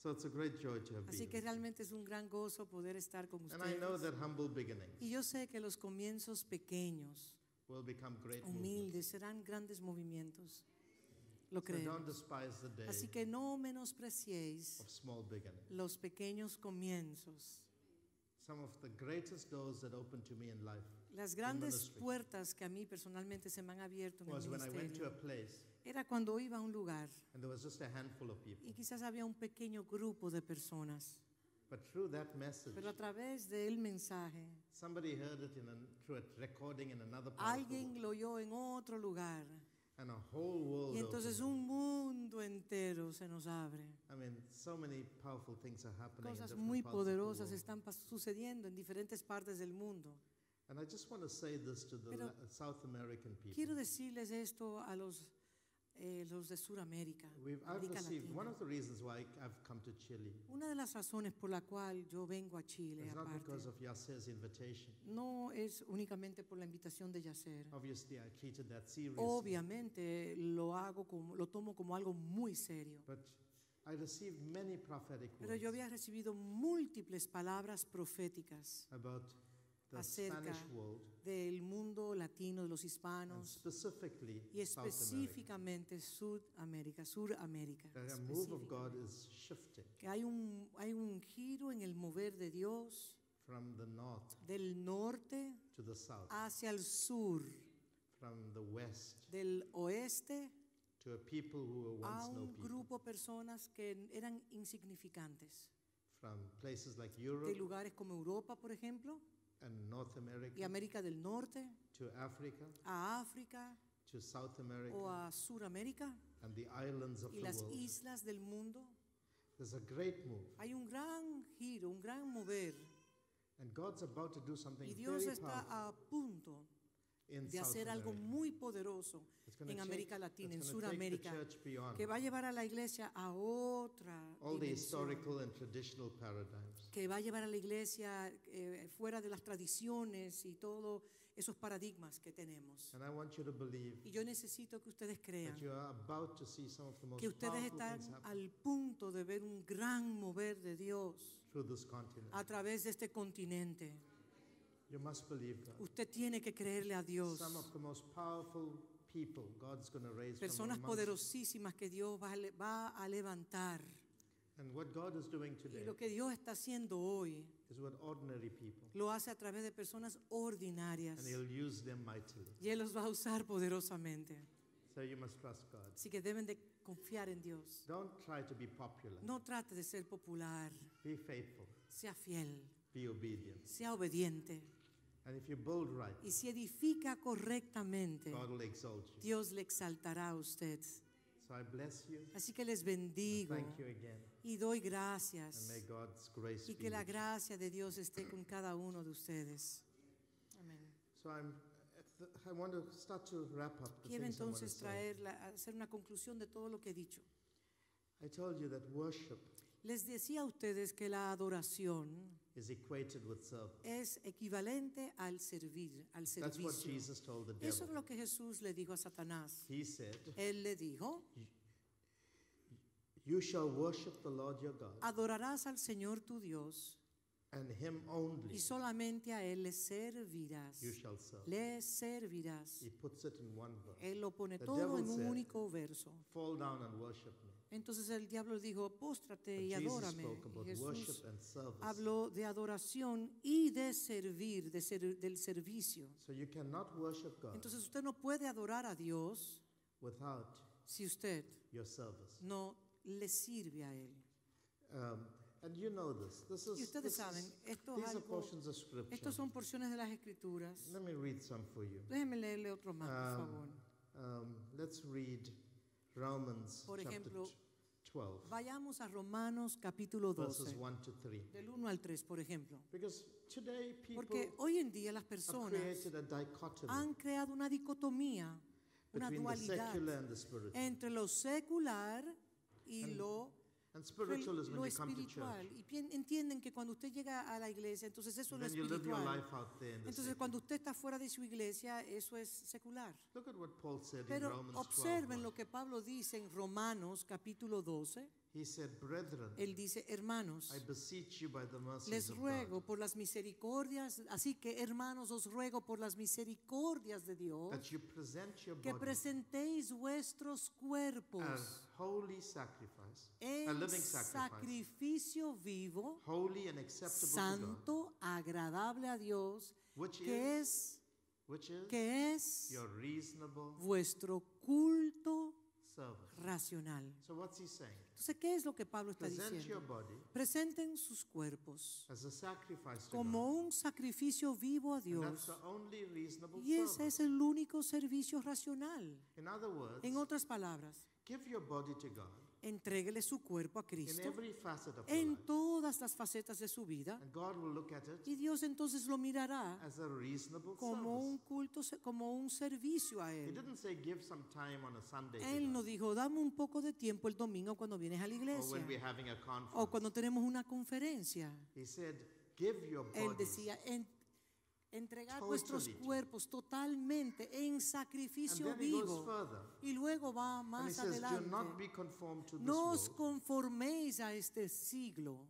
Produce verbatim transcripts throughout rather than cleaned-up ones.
So it's a great joy to have Así been. que realmente es un gran gozo poder estar con And I know ustedes. that humble beginnings Y yo sé que los comienzos pequeños, will become great humildes, movements. serán grandes movimientos. Lo So don't creemos. despise the day Así que no menospreciéis of small beginnings. los pequeños comienzos. Some of the greatest doors that opened to me in life Las grandes ministry. puertas que a mí personalmente se me han abierto en el was when I went to a ministerio place era cuando iba a un lugar and there was just a handful of people. y quizás había un pequeño grupo de personas, But through that message, pero a través del mensaje somebody heard it in a, through a recording in another part of the alguien world, lo oyó en otro lugar and a whole world y entonces opened. un mundo entero se nos abre. I mean, so many powerful things are happening in Cosas different muy parts of the poderosas world. están pas- sucediendo en diferentes partes del mundo. And I just want to say this to the Pero La- South American people. Quiero decirles esto a los, eh, los de Sudamérica, We've, I've América received, one Latina. of the reasons why I've come to Chile Una de las razones por la cual yo vengo a Chile, is not aparte, because of Yasser's invitation. no es únicamente por la invitación de Yasser. Obviously, I treated that seriously. Obviamente lo hago como, lo tomo como algo muy serio. But I received many prophetic Pero yo words había recibido múltiples palabras proféticas about the acerca Spanish world del mundo latino, de los and hispanos specifically y South America. específicamente Sudamérica, Suramérica. That a move of específicamente. God is shifting Que hay un, hay un giro en el mover de Dios from the north del norte to the south, hacia el sur, from the west del oeste to a people who were a once no un people, grupo de personas que eran insignificantes, from places like de Europe lugares como Europa, por ejemplo, and North y America América del Norte, to Africa a África to South America o a Suramérica and the islands of y the las world. islas del mundo. There's a great move, Hay un gran giro, un gran mover, and God's about to do something y Dios very está powerful a punto in de South hacer algo America. muy poderoso It's gonna en take- América it's Latina, en gonna take the Suramérica, church beyond que va a llevar a la iglesia a otra all the dimensión, historical and traditional paradigms. que va a llevar a la iglesia eh, fuera de las tradiciones y todos esos paradigmas que tenemos. And I want you to believe Y yo necesito que ustedes crean that you are about to see some of the most que ustedes powerful están things happen al punto de ver un gran mover de Dios through this continent. a través de este continente. You must believe God. Usted tiene que creerle a Dios. Some of the most powerful people God's going to raise from Personas amongst you. poderosísimas que Dios va a, le- va a levantar. And what God is doing Y today lo que Dios está haciendo hoy is with ordinary people. lo hace a través de personas ordinarias. And He'll use them mightily. Y Él los va a usar poderosamente. So you must trust God. Así que deben de confiar en Dios. Don't try to be popular. No trate de ser popular. Be faithful. Sea fiel. Be obedient. Sea obediente. And if you build right, Y si edifica correctamente, God will exalt you. Dios le exaltará a usted. So I bless you. Así que les bendigo Thank you again. y doy And gracias. may God's grace Y be que la with you. gracia de Dios esté con cada uno de ustedes. Amén. So I'm, I want to start to wrap up the Quiero things I want to entonces say. traer, la- hacer una conclusión de todo lo que he dicho. I told you that worship Les decía a ustedes que la adoración is equated with service. es equivalente al servir, al That's what servicio. Jesus told the Eso es devil. lo que Jesús le dijo a Satanás. He said, Él le dijo, you shall worship the Lord your God adorarás al Señor tu Dios and him only y solamente a Él le servirás. you shall serve. Le servirás. He puts it in one verse. Él lo pone The todo devil en un said, único verso. fall down and worship me. Entonces el diablo dijo, póstrate But y Jesus adórame. spoke Y about Jesús worship and service. habló de adoración y de servir, de ser- del servicio. So you cannot worship God Entonces usted no puede adorar a Dios without si usted your service. no le sirve a Él. Um, and you know this. This is, Y ustedes this saben, is- esto es these are algo, portions of scripture. estos son porciones de las Escrituras. Let me read some for you. Déjenme leerle otro más, por Um, favor. Um, let's read Romans Por chapter ejemplo, t- twelve, Vayamos a Romanos capítulo verses doce, one to three. del uno al tres, por ejemplo. Because today people Porque hoy en día las have personas created a dichotomy han creado una dicotomía, una between the dualidad secular and the spiritual. entre lo secular y And lo, And spiritual is lo when you come to espiritual. church. Y pien- entienden que cuando usted llega a la iglesia, entonces eso es And lo then you live your espiritual. life out there in the Entonces secular. cuando usted está fuera de su iglesia, eso es secular. Look at what Paul said in Pero Romans observen twelve. lo que Pablo dice en Romanos capítulo doce. He said, brethren, Él dice, hermanos, I beseech you by the mercies les of ruego God, por las misericordias, así que hermanos, os ruego por las misericordias de Dios, that you present your que body presentéis vuestros a cuerpos holy sacrifice, a en living sacrifice, sacrificio vivo, holy and acceptable to God, santo, agradable a Dios, which que is, es, which is que es your reasonable vuestro culto service. racional. So what's he saying? Entonces, ¿qué es lo que Pablo está Present your diciendo? body Presenten sus cuerpos as a sacrifice to como God. un sacrificio vivo a And that's Dios. the only reasonable Y ese service. es el único servicio racional. In other words, En otras palabras, give your body to God entréguele su cuerpo a in Cristo every facet of your en life. todas las facetas de su vida, And God will look at it y Dios entonces lo mirará as a reasonable como un service. culto, como un servicio a He Él. didn't say give some time on a Sunday to Él no God, dijo, dame un poco de tiempo el domingo cuando vienes a la or iglesia when we're having a o conference. cuando tenemos una conferencia. He said, give your Él bodies decía, en- entregar totally vuestros to- cuerpos totalmente en and sacrificio then he goes vivo. further. Y luego va And he más says, do not adelante. be conformed to this No os world, conforméis a este siglo,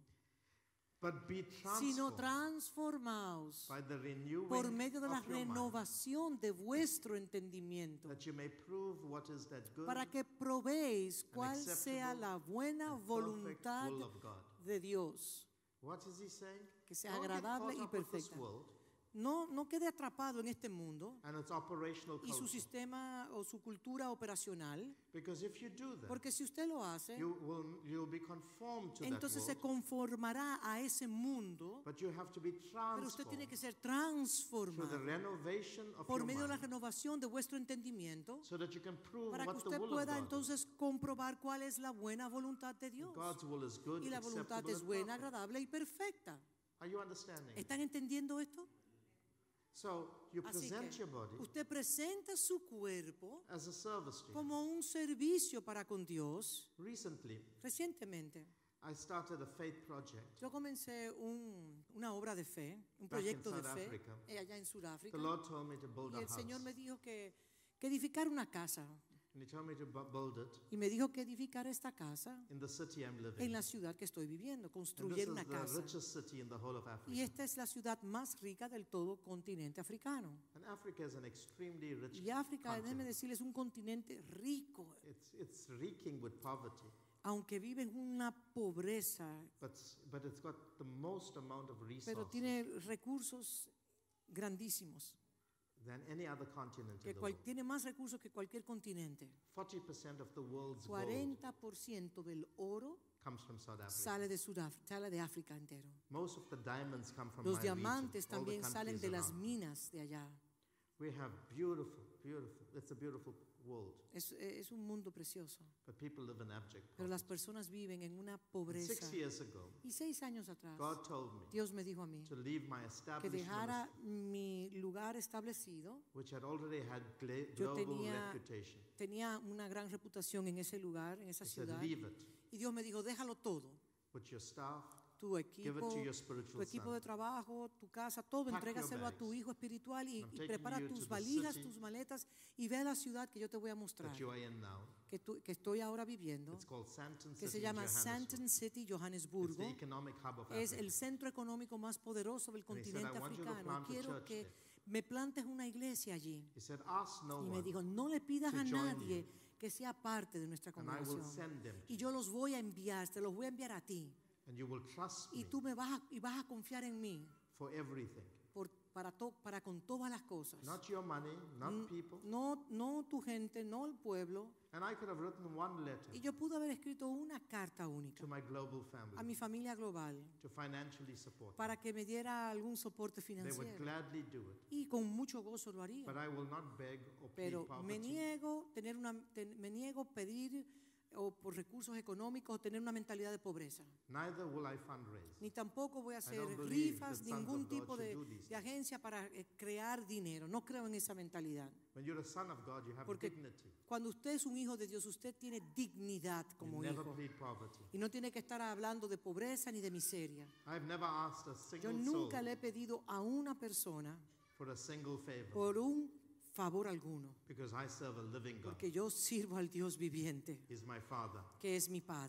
but be sino transformed transformaos by the renewing por medio de la of your mind, renovación de vuestro entendimiento, that you may prove what is that good para que probéis cuál acceptable sea la buena and perfect voluntad will of God. de Dios, What is he saying? que sea Don't get agradable caught y up with this perfecta. world No, no quede atrapado en este mundo and its operational y su culture. sistema o su cultura operacional, Because if you do that, porque si usted lo hace, you will you'll be conformed to entonces that se world, conformará a ese mundo, but you have to be pero usted tiene transformed que ser through the transformado renovation of por your medio de la mind, renovación de vuestro entendimiento, so that you can prove para que what the usted will pueda of God is. entonces comprobar cuál es la buena voluntad de Dios. God's will is good, Y la voluntad acceptable, es and buena, perfect. agradable y perfecta. Are you understanding? ¿Están entendiendo esto? So you Así present que your body usted presenta su cuerpo as a service to Him. como un servicio para con Dios. Recently, Recientemente, I started a faith project. yo comencé un- una obra de fe, un Back in proyecto de South fe Africa. eh, allá en Sudáfrica. The Lord told me to build Y a el Señor house. me dijo que, que edificar una casa. And He told me to bu- build it Y me dijo que edificar esta casa in the city I'm living en in. la ciudad que estoy viviendo, And this construir is una the casa. richest city in the whole of Y Africa. esta es la ciudad más rica del todo continente africano. And Africa is an extremely rich Y África, déjeme continent. decirles, es un continente rico, It's, it's reeking with poverty, aunque vive en una pobreza, but, but it's got the most amount of pero resources tiene recursos grandísimos, than any other continent que in the cual- world. tiene más recursos que cualquier continente. forty percent of the world's gold cuarenta por ciento del oro comes from South Africa. sale de Sudáfrica, sale de África entero. Most of the diamonds come from Los my diamantes region, all the también salen countries de las around. minas de allá. We have beautiful, beautiful, it's a beautiful world, Es, es un mundo precioso, but people live in abject pero las poverty. personas viven en una And pobreza. Six years ago, Y seis años atrás, God told me Dios me dijo a mí to leave my que established dejara ministry, mi lugar establecido. which had already had gla- Yo global tenía- reputation. Tenía una gran reputación en ese lugar, en esa He said, ciudad. leave it Y Dios me dijo, déjalo todo. with your staff, Tu give it equipo, to your tu spiritual equipo de son. trabajo, tu casa, todo, Pack entrégaselo your a tu bags. hijo espiritual y, I'm y taking prepara you tus to the valijas, city tus maletas y ve a la ciudad que yo te voy a mostrar, that you are in now. que, tú- que estoy ahora viviendo, It's called Sandton que City se in llama Johannesburg. Sandton City, It's Johannesburgo. the economic hub of Es Africa. el centro económico más poderoso del And he said, continente "I want you to africano. plant a Quiero church que there." me plantes una iglesia allí. He said, ask no Y me one, dijo, no le pidas to a join nadie que sea parte de nuestra and I will congregación. send them to Y you. yo los voy a enviar, te los voy a enviar a ti. And you will trust Y me tú me vas a, y vas a confiar en mí for everything. por, para, to- para con todas las cosas. Not your money, not people. No, no tu gente, no el pueblo. And I could have written one letter Y yo pude haber escrito una carta única to my global a family mi familia global to financially support me. para que me diera algún soporte They would financiero. gladly do it. Y con mucho gozo lo haría. But I will not beg or plead Pero me poverty. niego tener una, ten- me niego pedir o por recursos económicos o tener una mentalidad de pobreza. Neither will I fundraise. Ni tampoco voy a hacer don't believe rifas, that sons ningún of God tipo should de, do these de agencia para eh, crear dinero. No creo en esa mentalidad. When you're a son of God, you have Porque dignity. cuando usted es un hijo de Dios, usted tiene dignidad You como never hijo. plead poverty. Y no tiene que estar hablando de pobreza ni de miseria. I've never asked a Yo single nunca soul le he pedido a una persona for a single favor por un favor alguno, because I serve a living God. porque yo sirvo al Dios viviente, He's my Father. que es mi Padre.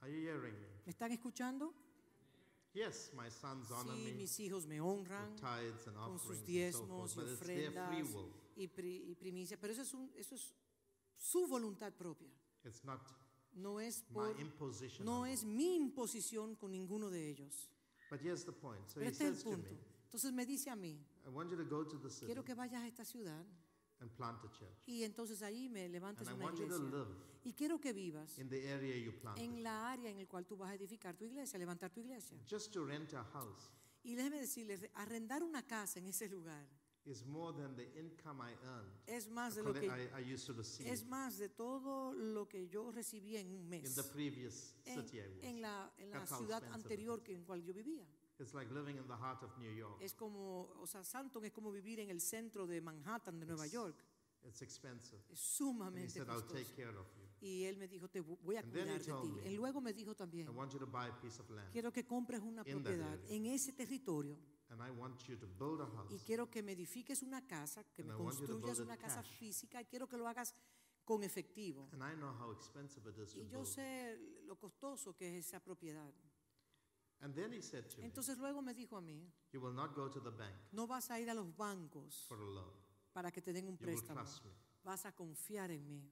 Are you hearing me? ¿Me están escuchando? Yes, my sons honor Sí, me mis hijos me honran with tithes and con sus offerings and so diezmos forth, y but it's their free ofrendas will. y, pri- y primicias, pero eso es, un- eso es su voluntad propia. It's not No es, my por, imposition no on es them. mi imposición con ninguno de ellos. But here's the point. So Pero he este es el says to me, punto. Entonces me dice a mí, I want you to go to the city quiero que vayas a esta ciudad and plant a church. y entonces ahí me levantes And I una want you to iglesia. live Y quiero que vivas in the area you planted. en la área en la cual tú vas a edificar tu iglesia, levantar tu iglesia. Just to rent a house Y déjeme decirles, arrendar una casa en ese lugar is more than the income I earned. es más de lo que I, I used to receive es más de todo lo que yo recibía en un in mes the previous en, city I was. en la, en la That's how ciudad expensive it anterior is. que en cual yo vivía. It's like living in the heart of New York. Es como, o sea, Santon es como vivir en el centro de Manhattan, de Nueva It's- York. It's expensive. Es And he sumamente said, I'll take costoso. care of you. Y él me dijo, te voy a And then he cuidar de told ti. me, Y luego me dijo también, I want you to buy a piece of land. quiero que compres una in that propiedad area. en ese territorio And I want you to build a house. y quiero que me edifiques una casa, que And me I want you to construyas build una it casa cash. física y quiero que lo hagas con efectivo. And I know how expensive it is to Y yo build. sé lo costoso que es esa propiedad. And then he said to me, Entonces luego me dijo a mí, you will not go to the bank no vas a ir a los bancos for a loan. para que te den un You will préstamo. trust me. Vas a confiar en mí.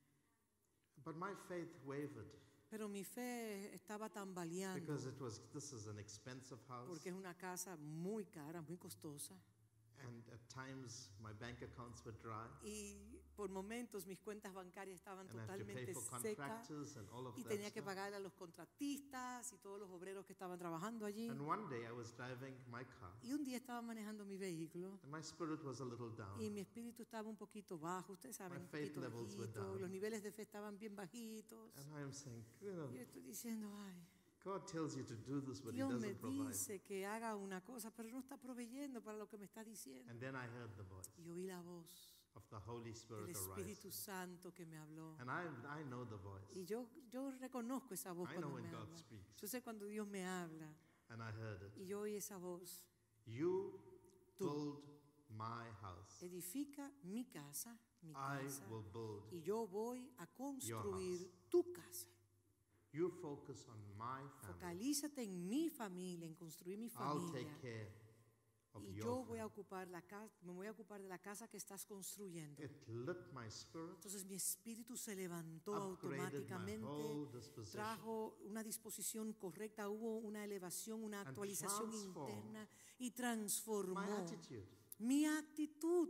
But my faith wavered Pero mi fe estaba tambaleando because it was, this is an expensive house. porque es una casa muy cara, muy costosa. And at times my bank accounts were dry. Y por momentos mis cuentas bancarias estaban And I have to pay totalmente for secas contractors and all of y that tenía que stuff. pagar a los contratistas y todos los obreros que estaban trabajando allí. And one day I was driving my car Y un día estaba manejando mi vehículo and my spirit was a little down. y mi espíritu estaba un poquito bajo, ustedes saben, My un faith poquito levels were bajito, down. los niveles de fe estaban bien bajitos. And I am saying, you know, Y yo estoy diciendo, ay, God tells you to do this, but he Dios me doesn't provide. dice que haga una cosa, pero no está proveyendo para lo que me está diciendo. And then I heard the voice Y oí la voz of the Holy del Spirit arise. Espíritu Santo que me habló. And I, I know the voice. Y yo, yo reconozco esa voz I know cuando when me God habla. speaks. Yo sé cuando Dios me habla. And I heard it. Y yo oí esa voz. You Tú. build my house. Edifica mi casa, mi I casa. will build. Y yo voy a construir house. tu casa. You focus on my family. Focalízate en mi familia, en construir mi I'll familia. take care of Y your yo voy a family. ocupar la casa, me voy a ocupar de la casa que estás construyendo. It lit my spirit, Entonces mi espíritu se levantó upgraded my automáticamente, whole disposition. trajo una disposición correcta, hubo una elevación, una And actualización transformed interna y My transformó attitude. mi actitud.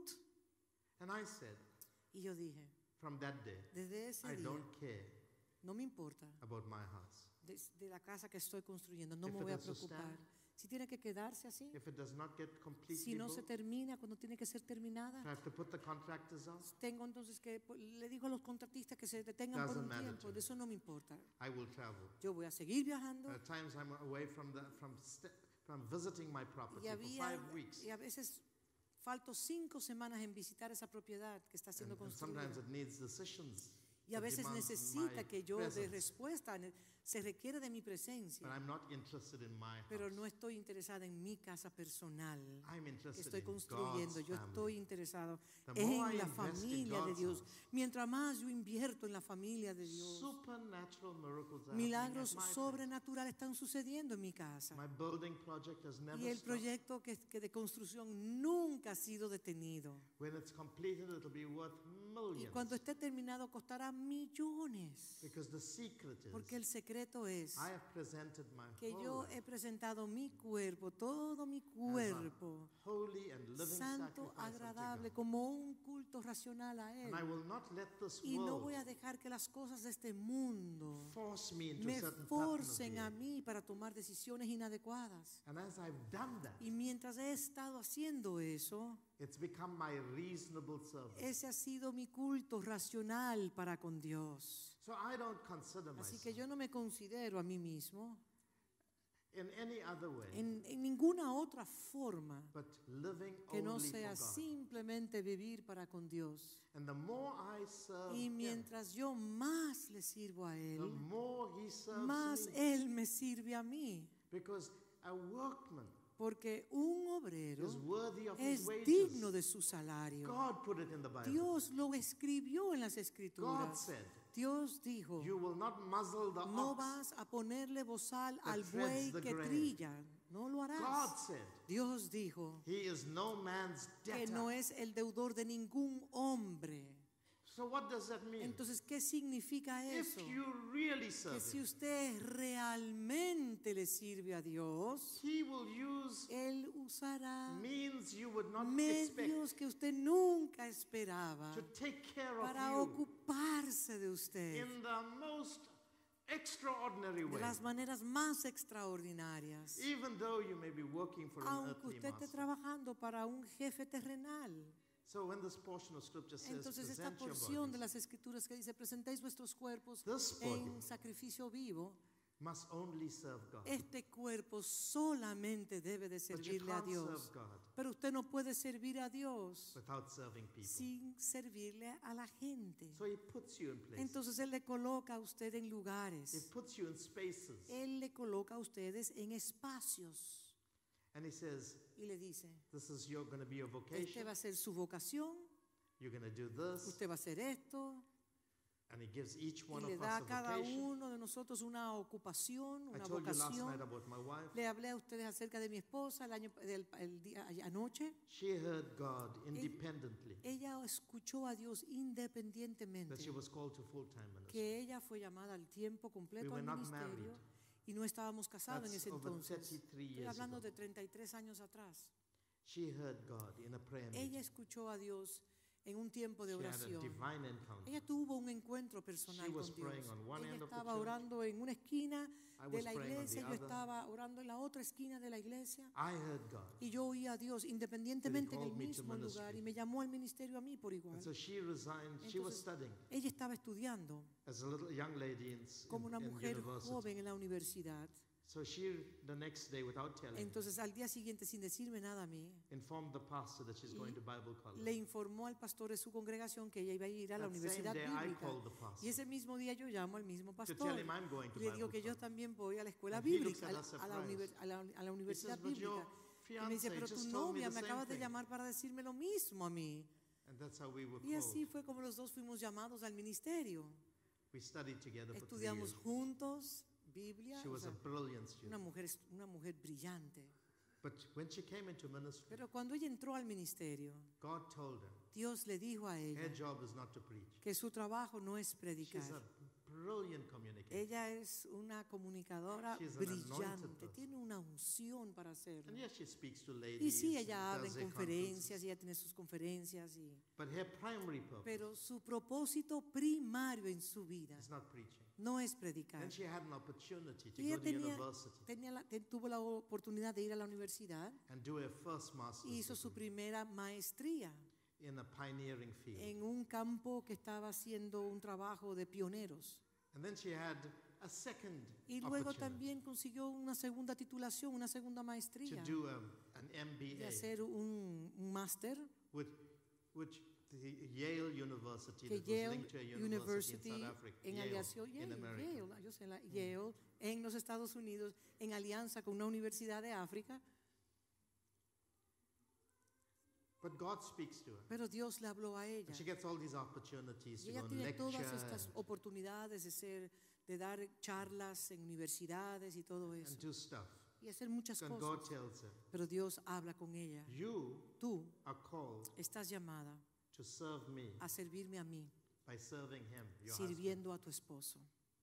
And I said, Y yo dije, from that day, desde ese I día, don't care no me importa about my house. de, de la casa que estoy construyendo, no If me it voy a has to preocupar. stand, Si tiene que quedarse así, If it does not get completely si no se built, termina cuando tiene que ser terminada, I have to put the contractors out. tengo entonces que, pues, le digo a los contratistas que se detengan por Doesn't un matter tiempo, to de me. eso no me importa. I will travel. Yo voy a seguir viajando At times I'm away from the from st- from visiting my property y, for había, five weeks. y a veces falto cinco semanas en visitar esa propiedad que está siendo And, and construida. sometimes it needs decisions. Y a that veces demands necesita my que yo dé presence. respuesta, ne- se requiere de mi presencia, But I'm not interested in my pero house. no estoy interesada en mi casa personal I'm que interested estoy in construyendo. God's Yo family. estoy interesado The more en I la invest in familia de God's Dios. house, Mientras más yo invierto en la familia de Dios, supernatural miracles are milagros happening at my sobrenaturales están sucediendo en mi casa. place. My building project has never Y el stopped. proyecto que, que de construcción nunca ha sido detenido. When it's completed, it'll be worth Y millions. cuando esté terminado costará millones. Because the secret is, Porque el secreto es I have presented my que whole yo life he presentado mi cuerpo, todo mi as a cuerpo, holy and living santo, sacrifice unto agradable, God. como un culto racional a Él. And I will not let this Y no world voy a dejar que las cosas de este mundo force me into a me certain pattern of forcen a behavior. mí para tomar decisiones inadecuadas. And as I've done that, Y mientras he estado haciendo eso, it's become my reasonable service. ese ha sido mi culto racional para con Dios. So I don't consider Así myself que yo no me considero a mí mismo in any other way en, en ninguna otra forma but living que no only sea for God. simplemente vivir para con Dios. And the more I serve Y Him, mientras yo más le sirvo a the Él, more He serves más me. Él me sirve a mí. Because a workman Porque un obrero is worthy of his es wages. digno de su salario. God put it in the Bible. Dios lo escribió en las God Escrituras. said, Dios dijo, you will not muzzle the no ox. vas a ponerle bozal that al treads buey the que grain. trilla. No lo God harás. said, Dios dijo he is no man's que debtor. no es el deudor de ningún hombre. So what does that mean? Entonces, ¿qué significa If eso? you really serve Que si him, usted realmente le sirve a Dios, he will use Él usará means you would not medios expect que usted nunca esperaba to take care para of you ocuparse de usted in the most extraordinary de way. las maneras más extraordinarias. Even though you may be working for an Aunque earthly usted esté master. trabajando para un jefe terrenal. So when this portion of scripture says, Entonces esta present your porción de bodies, las escrituras que dice, presentéis vuestros cuerpos this body en sacrificio vivo, must only serve God. este cuerpo solamente debe de But you servirle a can't Dios. serve God Pero usted no puede servir a Dios without serving people. sin servirle a la gente. So he puts you in places. Entonces Él le coloca a usted en He lugares. puts you in spaces. Él le coloca a ustedes en espacios. And he says, Y le dice, this is your going to be your este vocation. va a ser su vocación, You're going to do this. usted va a hacer esto. And he gives each Y one le of da a us a cada vocation. uno de nosotros una ocupación, I una told you last night vocación. about my wife. Le hablé a ustedes acerca de mi esposa el, año, el, el día anoche. She heard God independently. Ella escuchó a Dios independientemente. That she was called to full-time ministry. Que ella fue llamada al tiempo We completo were al not ministerio married. y no estábamos casados en That's ese over entonces. thirty-three Estoy years hablando ago. de treinta y tres años atrás. She heard God in a prayer Ella meeting. escuchó a Dios en un tiempo de She had a oración. divine encounter. Ella tuvo un encuentro personal She was con Dios. praying on one Ella end of the estaba church. orando en una esquina I de was la praying on the iglesia, yo other. estaba orando en la otra esquina de la iglesia. I heard God. Y yo oía a Dios independientemente en el called me to mismo ministry. lugar y me llamó al ministerio a mí por igual. And so she resigned. She was Entonces, studying ella estaba estudiando as a little young lady in, como in, una in mujer university. joven en la universidad. So she, the next day, without telling me, Entonces al día siguiente, sin decirme nada a mí, informed the pastor that she's going to Bible college. le informó al pastor de su congregación que ella iba a ir a la That same universidad day, I bíblica. called the pastor Y ese mismo día yo llamo al mismo to pastor tell him I'm going to y le digo Bible que yo college. también voy a la escuela And he looks bíblica, at a, us a la, surprised. univer- a la- a la universidad He says, "But your bíblica. Y me dice, fiancé pero just tu told me novia the me same acabas de thing." llamar para decirme lo mismo a mí. And that's how we were Y así called. fue como los dos fuimos llamados al ministerio. We studied together for three Estudiamos years. juntos Biblia. She o was a sea, brilliant una student. mujer, una mujer brillante. But when she came into ministry, Pero cuando ella entró al ministerio, God told her, Dios le dijo a ella her job is not to preach. que su trabajo no es predicar. She's a brilliant communicator. Ella es una comunicadora She's an anointed brillante, person. tiene una unción para hacerlo. And yes, she speaks to ladies. Y sí, ella habla does en her conferencias, conferences. y ella tiene sus conferencias, y, But her primary purpose pero su propósito primario en su vida is not preaching. no es predicar. Then she had an opportunity to Y ella go to tenía, university tenía la- te- tuvo la oportunidad de ir a la universidad and do her first master's y hizo su degree primera maestría in a pioneering field. en un campo que estaba haciendo un trabajo de pioneros. And then she had a second Y luego opportunity también consiguió una segunda titulación, una segunda to maestría, do um, an M B de A hacer un, un máster with which the Yale University que that was Yale linked to a university, University in South Africa, en Yale, alianza, in Yale, America. Yale, yo sé, la- Yale, en los Estados Unidos, en alianza con una universidad de África, But God speaks to her. pero Dios le habló a ella. And she gets all these opportunities Y to ella go and tiene lecture. todas estas and- oportunidades de ser, de dar charlas en universidades y todo eso, and do stuff. y hacer muchas And God cosas. tells her, Pero Dios habla con ella. you Tú are called estás llamada to serve me a servirme a mí, by serving him, your husband. sirviendo a tu esposo.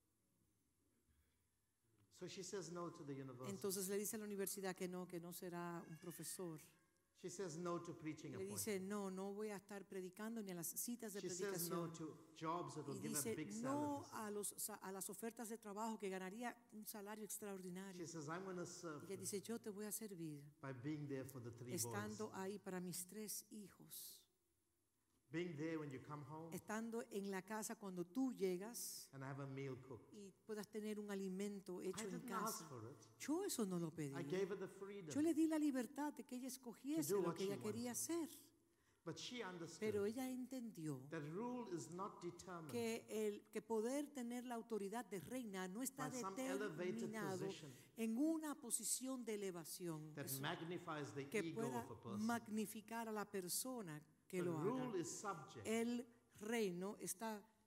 So she says no to the university. Entonces le dice a la universidad que no, que no será un profesor. She says no to preaching Le dice, appointments. no, no voy a estar predicando ni a las citas de She says no predicación. to jobs that will Y give her dice, big no salaries. a, los, a las ofertas de trabajo que ganaría un salario extraordinario. She says, I'm going to serve Ella them dice, yo te voy a servir by being there for the three estando boys. ahí para mis tres hijos. Being there when you come home Estando en la casa cuando tú llegas and have a meal cooked. y puedas tener un alimento I hecho en didn't ask casa. for it. Yo eso no lo pedí. I gave her the freedom. Yo le di la libertad de que ella escogiese To do lo what que she ella quería hacer. But she understood Pero ella entendió that rule is not determined que el que poder tener la autoridad de reina no está by some elevated determinado position en una posición de elevación that eso, magnifies the que ego pueda of a person. magnificar a la persona que The lo haga. rule is subject El reino está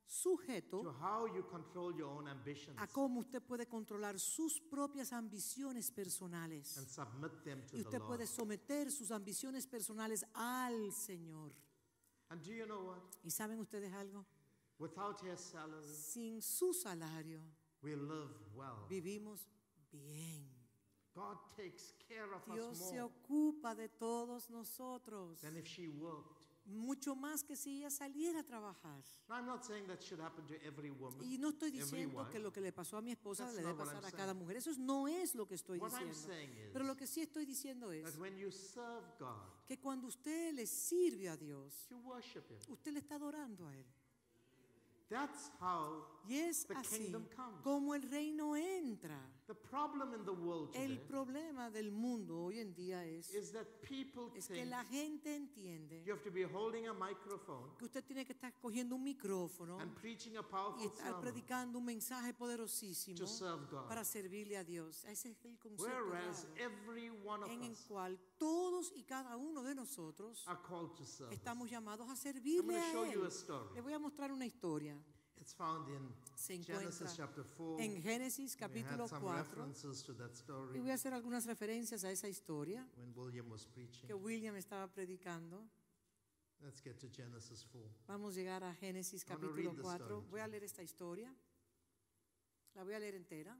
sujeto to how you control your own ambitions a cómo usted puede controlar sus propias ambiciones personales. and submit them to Y the usted Lord. puede someter sus ambiciones personales al Señor. And do you know what? ¿Y saben ustedes algo? Without His salary, Sin su salario we live well. vivimos bien. God takes care of Dios us se more ocupa de todos nosotros, than if she worked. mucho más que si ella saliera a trabajar. Now, I'm not saying that should happen to every woman. Y no estoy every diciendo wife. que lo que le pasó a mi esposa That's le debe not what pasar I'm a cada saying. mujer. Eso no es lo que estoy What I'm diciendo. saying is Pero lo que sí estoy diciendo es that when you serve God, que cuando usted le sirve a Dios, you worship Him. usted le está adorando a Él. That's how Y es the así kingdom comes. como el reino entra. The problem in the world El today problema del mundo hoy en día es, is that people es que think la gente entiende you have to be holding a microphone que usted tiene que estar cogiendo un micrófono and preaching a y powerful estar sermon predicando un mensaje poderosísimo to serve God. para servirle a Dios. Ese es el concepto Whereas errado, every one of en el us cual todos y cada uno de nosotros are called to serve. estamos llamados a I'm servirle going to show a you a Él. story. Le voy a mostrar una historia. It's found in Se encuentra Genesis chapter four. en Génesis We capítulo had some cuatro. references to that Y story voy a hacer algunas referencias a esa historia when William was preaching. que William estaba predicando. Let's get to Genesis four. Vamos a llegar a Génesis I wanna capítulo read the cuatro. story to Voy a you. leer esta historia. La voy a leer entera.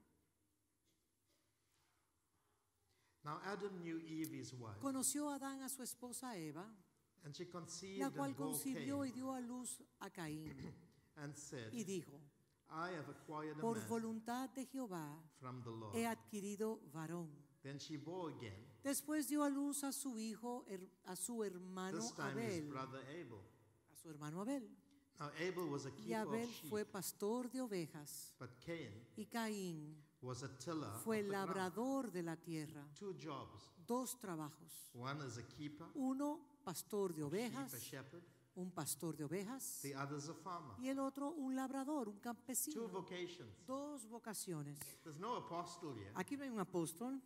Now Adam knew Eve, his wife, Conoció Adán a su esposa Eva, and she conceived la cual and bore concibió y Cain, dio a luz a Caín. and said, Y dijo, I have acquired a por man voluntad de Jehová from the Lord. he adquirido varón. Then she bore again, Después dio a luz a su hijo, her- a su hermano this time his Abel, brother Abel. a su hermano Abel. Now Abel was a Y keeper Abel of sheep, fue pastor de ovejas but Cain y Caín was a tiller fue of the ground. labrador de la tierra. Two jobs. Dos trabajos. One is a keeper, Uno, pastor de of sheep, ovejas, a shepherd. un pastor de ovejas, The other is a farmer. y el otro un labrador, un Two campesino. vocations. Dos vocaciones. There's no apostle yet. Aquí no hay un apóstol,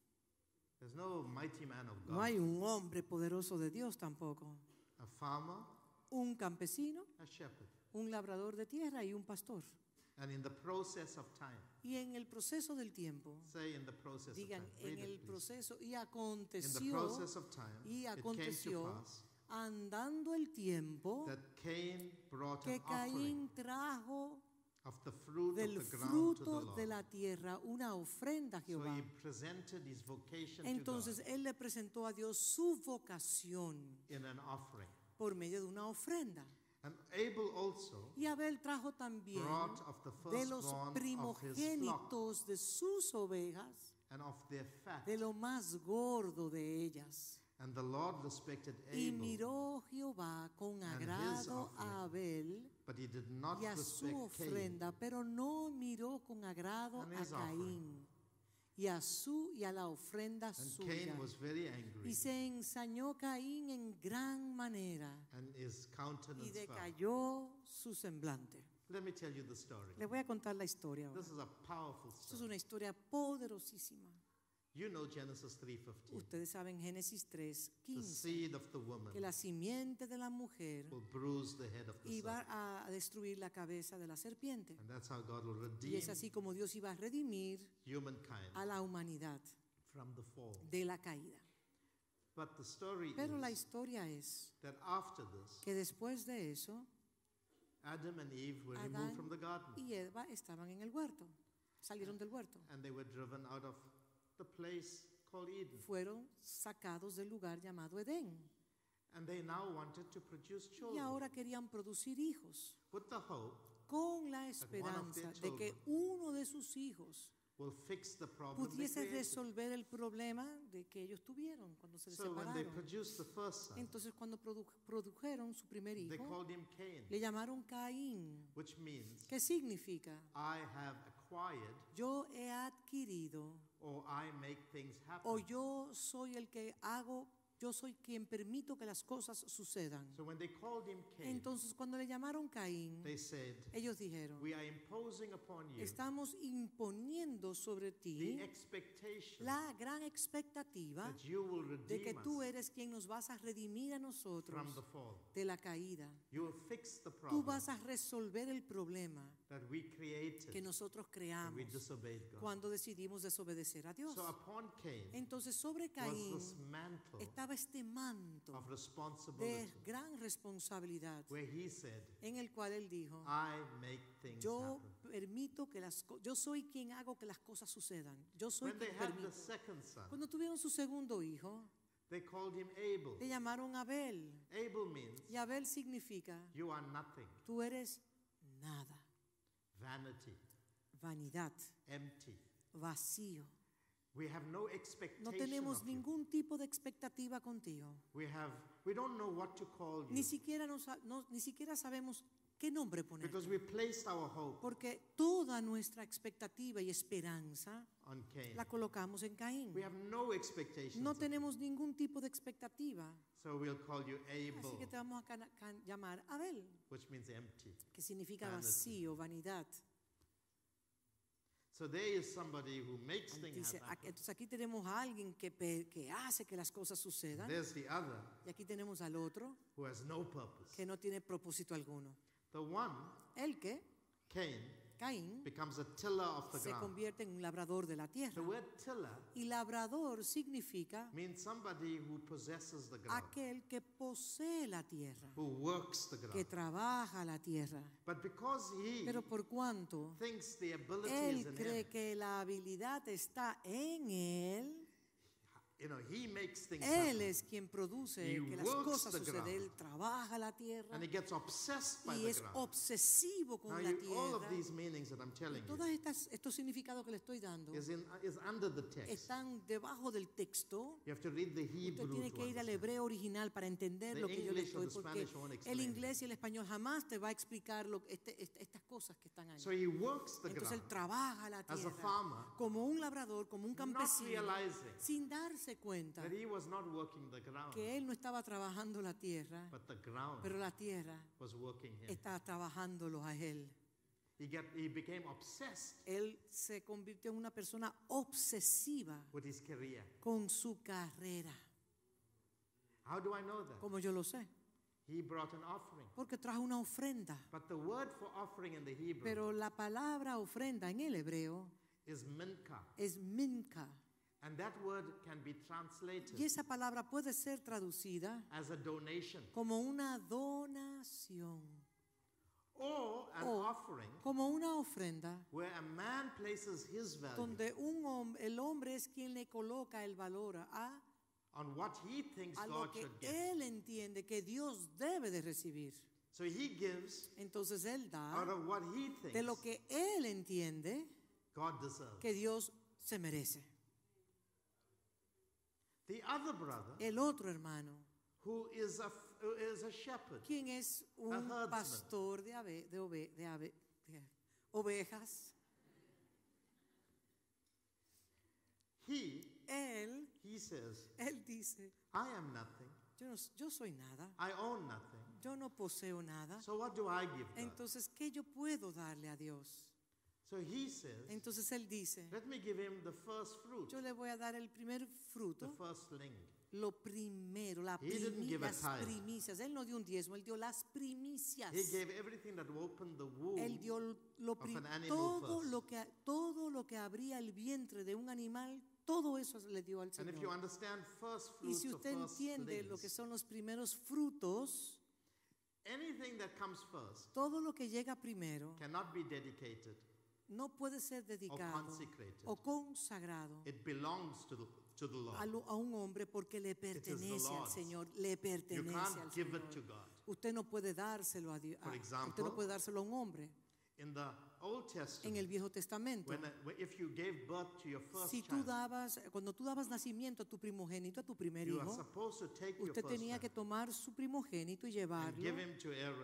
There's no mighty man of God. no hay un hombre poderoso de Dios tampoco. A farmer, Un campesino, a shepherd. un labrador de tierra y un pastor. And in the process of time, Y en el proceso del tiempo, say in the process digan, of time, en read el it, please. proceso, y In the aconteció, process of time, y it came to aconteció, pass andando el tiempo, that Cain brought que an offering Caín trajo of the fruit del of the ground to the fruto Lord. de la tierra una ofrenda a So Jehová. he presented his vocation Entonces to él le presentó a Dios su vocación God in an offering. por medio de una ofrenda. And Abel also Y Abel trajo también brought of the de los firstborn of his flock primogénitos de sus ovejas, and of their fat. de lo más gordo de ellas. And the Lord respected Y Abel, miró Jehová con and his agrado a offering, Abel but he did not y a su respect Cain ofrenda, pero no miró con agrado and a his offering. Caín y a su y a la ofrenda And suya. Cain was very angry, Y se ensañó Caín en gran manera and his y countenance fell. decayó su semblante. Let me tell you the story. Les voy a contar la historia ahora. This is a powerful Esto es story. una historia poderosísima. You know Genesis three fifteen. Ustedes saben Génesis tres The quince seed of the woman que la simiente de la mujer will bruise the head of the iba serpent. a destruir la cabeza de la serpiente. And that's how God will Y redeem es así como Dios iba a redimir humankind a la humanidad from the fall. de la caída. But the story Pero la is historia es that after this, que después de eso, Adam and Eve were Adán removed from the garden, y Eva estaban en el huerto, salieron del huerto, and they were driven out of the place called Eden. fueron sacados del lugar llamado Edén. And they now wanted to produce Y children ahora querían producir hijos with the hope con la one of esperanza their de que uno de sus hijos will fix the problem they pudiese created. resolver el problema de que ellos tuvieron cuando se So when they separaron. produced the first son, Entonces cuando produ- produjeron su primer they hijo, called him Cain, le llamaron Caín. which means ¿Qué significa? I have acquired Yo he adquirido or I make things o happen. yo soy el que hago yo soy quien permito que las cosas sucedan. So when they called him Cain, Entonces, cuando le llamaron Caín, they said, ellos dijeron, we are imposing upon you estamos imponiendo sobre the ti expectation la gran expectativa that you will de que redeem tú us eres quien nos vas a redimir a nosotros from the fall. de la caída. You will fix the Tú problem vas a resolver el problema that we created que nosotros when creamos we disobeyed God. cuando decidimos desobedecer a Dios. So upon Cain Entonces, sobre was Caín this mantle estaba este manto of de responsibility gran responsabilidad where he said, en el cual él dijo, I make things yo happen. permito que las co- yo soy quien hago que las cosas sucedan. Yo soy When they quien had the permito. second son, Cuando tuvieron su segundo hijo, they called him Abel. le llamaron Abel. Abel means Y Abel significa, you are nothing, tú eres nada, vanity, vanidad, empty. vacío. We have no No expectation tenemos of you. ningún tipo de expectativa contigo. We have, we don't know what to call Ni you siquiera, nos, no- ni siquiera sabemos qué nombre poner. because we placed our hope Porque toda nuestra expectativa y esperanza on Cain. la colocamos en Caín. We have no expectations. No of you. tenemos ningún tipo de expectativa. So we'll call you Así que Abel, te vamos a cana- can- llamar Abel, which means empty. que significa Vanity. vacío, vanidad. So there is somebody who makes things Dice, happen. aquí- entonces aquí tenemos a alguien que, pe- que hace que las cosas sucedan. There's the other Y aquí tenemos al otro who has no purpose. que no tiene propósito alguno. The one, El que, Cain, Caín, becomes a tiller of the se ground. convierte en un labrador de la The tierra. word tiller Y labrador significa means somebody who possesses the ground, aquel que posee la tierra, who works the que ground. trabaja la tierra. But because he Pero por cuanto thinks the ability is él in cree him, que la habilidad está en él, you know, he makes things él happen. es quien produce He que las works cosas the suceden. ground. Él trabaja la tierra And he gets obsessed by y the es ground. obsesivo con Now, la you, all of tierra. these meanings that I'm telling you Todos estas, estos significados que le estoy dando is, in, is under the text. están debajo del texto. You have to read the Usted Hebrew tiene to que ir al understand. hebreo original para entender The lo que yo le English or estoy, the porque Spanish won't el explain inglés y el español jamás te va a explicar lo, este- este- estas cosas que están ahí. So he works the Entonces él ground trabaja la as a tierra farmer, como un labrador, como un not campesino, realizing sin darse cuenta that he was not working the ground, que él no estaba trabajando la tierra, but the ground pero la tierra was working him. está trabajándolo a él. He, get, he became obsessed Él se convirtió en una persona obsesiva with his career. con su carrera. How do I know that? Como yo lo sé, He brought an offering. porque trajo una ofrenda. But the word for offering in the Hebrew Pero la palabra ofrenda en el hebreo is minka. es minka. And that word can be translated Y esa palabra puede ser traducida as a donation como una donación or an o offering como una ofrenda where a man places his value donde un hom- el hombre es quien le coloca el valor a, on what he thinks a God lo que should give. él entiende que Dios debe de recibir. So he gives Entonces él out da of what he de lo thinks que él entiende God deserves. que Dios se merece. The other brother, El otro hermano, who is a, f- who is a shepherd, quien es un herdsman. pastor de, ave- de, ove- de ave- de ovejas, he, él, he says, él dice, I am nothing. yo, no, yo soy nada, I own nothing. yo no poseo nada. So what do I give God? Entonces, ¿qué yo puedo darle a Dios? So he says, Entonces él dice, let me give him the first fruit, yo le voy a dar el primer the fruto, firstling. lo primero, la He didn't primi- give a las tithe. primicias. Él no dio un diezmo, él dio las primicias. He gave everything that opened the womb. Él dio lo of pri- an animal todo first. lo que todo lo que abría el vientre de un animal, todo eso le dio al And if you Señor. understand first Y fruits si or usted first entiende lo que slings, son los primeros frutos, anything that comes first todo lo que llega primero cannot be dedicated no puede ser or dedicado consecrated. o consagrado It belongs to the, to the Lord. a, lo- a un hombre porque le pertenece al Lord's. Señor, le You pertenece al can't give Señor. it to God. Usted no puede dárselo a Dios. For Usted example, no puede dárselo a un hombre. In the Old En Testament, el Viejo Testamento, when, when- if you gave birth to your first si tú child, dabas, cuando tú dabas nacimiento a tu primogénito, a tu primer you are hijo, supposed to take your usted first tenía que child tomar su primogénito y and llevarlo give him to Aaron.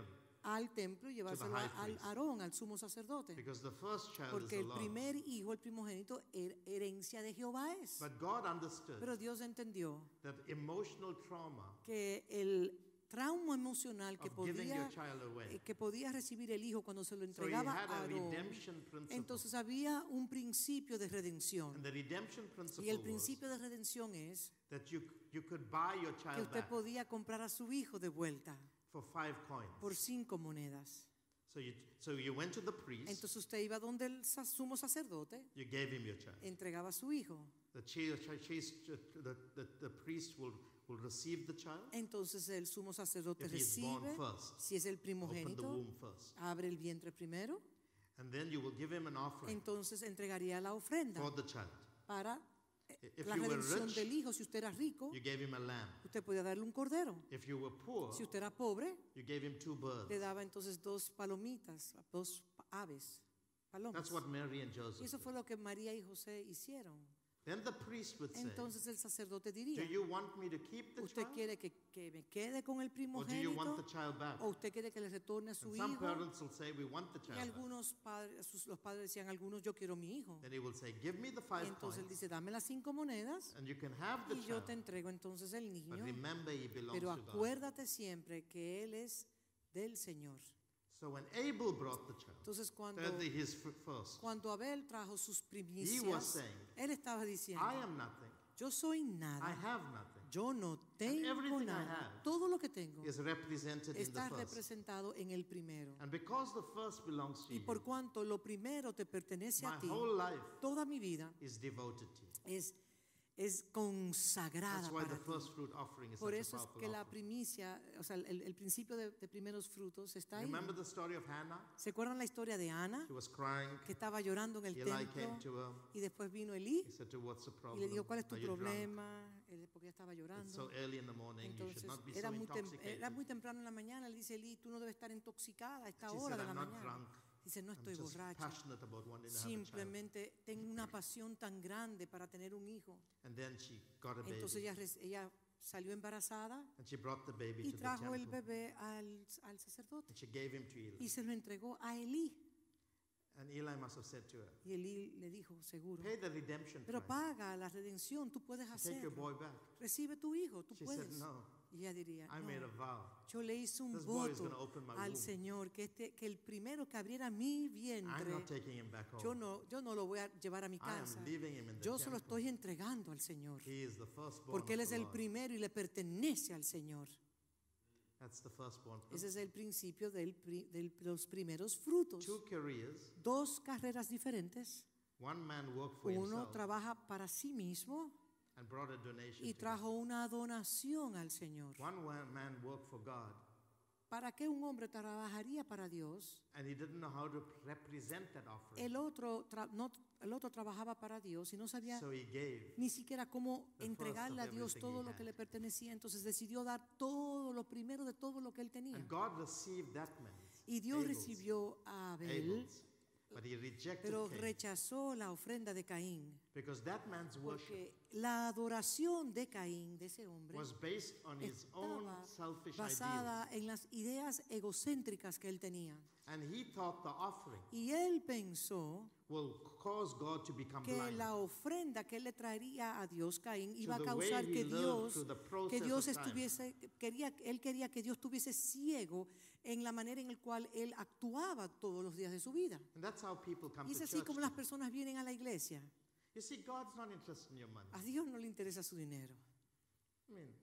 al templo y llevárselo high al priest. Aarón, al sumo sacerdote. Because the first child is Porque the el Lord. primer hijo, el primogénito, her- herencia de Jehová es. But God understood Pero Dios entendió that emotional trauma que el trauma emocional que of giving your podía, child away. eh, que podía recibir el hijo cuando se lo So he entregaba had a a Aarón, redemption principle. entonces había un principio de redención. And the redemption Y principle el was principio de redención es that you, you could buy your que child usted back podía comprar a su hijo de vuelta for five coins. por cinco monedas. So you, so you went to the priest, Entonces usted iba donde el sa- sumo sacerdote, you gave him your child. entregaba a su hijo. The, chi- chi- chi- the, the, the priest will, will receive the child Entonces el sumo sacerdote if he is born recibe, first. si es el Open the primogénito, womb first. abre el vientre primero, And then you will give him an offering entonces entregaría la ofrenda for the child. para eh, If la you were redención rich, del hijo. Si usted era rico, you gave him a lamb. usted podía darle un cordero. If you were poor, Si usted era pobre, you gave him two birds. le daba entonces dos palomitas, dos pa- aves, palomas. That's what Mary and Y Joseph eso did. fue lo que María y José hicieron. Then the priest would say, Entonces el sacerdote do diría, you want me to keep the ¿usted child quiere que, que me quede con el or do you want the primogénito child back? o usted quiere que le retorne a su And some hijo? parents will say, we want the Y child back. algunos padres, sus- los padres decían, algunos, yo quiero mi hijo. Then he will say, give me the Y five entonces él coins dice, dame las cinco monedas and you can have the y yo child. te entrego entonces el But niño. remember, he belongs Pero to God. acuérdate siempre que él es del Señor. So when Abel brought the child, Entonces cuando, thirdly, his f- first, cuando Abel trajo sus he was primicias, saying, él estaba diciendo, I am nothing. yo soy I nada, have nothing. yo no tengo everything I nada. have Todo lo que tengo Is represented in the está first. representado en el primero. And because the first belongs to Y por you, cuanto lo primero te pertenece my a ti, whole life toda mi vida is devoted to you. es, es consagrada That's why para the ti. first fruit offering is Por such a eso es powerful que la offering. primicia, o sea, el, el principio de, de primeros frutos está ahí. Remember the story of Hannah? ¿Se acuerdan la historia de Ana, She was crying. que estaba llorando en el Eli came templo to her. y después vino Elí He said to her, what's the y problem? le dijo, ¿cuál es tu Are you drunk? problema? Él- porque ella estaba It's llorando. so early in the morning. You Entonces, should not be so era muy, tem- intoxicated. era muy temprano en la mañana, le dice Elí, tú no debes estar intoxicada a esta She hora said, de la I'm not mañana. drunk. Dice, no I'm estoy just borracha, passionate about wanting to have a child. simplemente tengo una pasión tan grande para tener un hijo. And then she got a baby. Entonces ella, res- ella salió embarazada And she brought the baby y to the trajo el temple. bebé al, al sacerdote And she gave him to Eli. y se lo entregó a Elí. And Eli must have said to her, Y Elí le dijo, seguro, pay the redemption pero price. paga la redención, tú puedes and Take your hacerlo. boy back. Recibe tu hijo, tú She puedes. said, no, Y ella diría, I made a no, vow. yo le hice un This boy is voto going to open my al womb. Señor que, este, que el primero que abriera mi I'm vientre, not taking him back home. yo no, yo no lo voy a llevar a mi I casa. am leaving him in the Yo se lo temple. estoy entregando al Señor. He is the firstborn Porque Él of es the el Lord. primero y le pertenece al Señor. That's the firstborn. Ese es el principio del pri- de los primeros frutos. Two careers. Dos carreras diferentes. One man worked for Uno himself trabaja para sí mismo and brought a donation y to God. trajo una donación al Señor. One wa- man worked for God ¿Para qué un hombre trabajaría para Dios? and he didn't know how to represent that offering. El otro, tra- no, el otro trabajaba para Dios y no sabía So he gave. ni siquiera cómo the entregarle a first of Dios everything todo he lo que had. le pertenecía. Entonces decidió dar todo lo primero de todo lo que él tenía. And God received that man. Y Dios Abel's, recibió a Abel, Abel's, but he rejected pero Cain rechazó la ofrenda de Caín. because that man's worship Porque la adoración de Caín, de ese hombre, was based on his own estaba selfish basada ideas. en las ideas egocéntricas que él tenía. And he thought the offering Y él pensó will cause God to become que blind. la ofrenda que él le traería a Dios, Caín, iba a the way causar he que lived Dios, through the process que Dios of time. estuviese, quería, él quería que Dios estuviese ciego en la manera en la cual él actuaba todos los días de su vida. And that's how people come Y es to así church. como las personas vienen a la iglesia. You see, God's not interested in your money. A Dios no le interesa su dinero. I mean,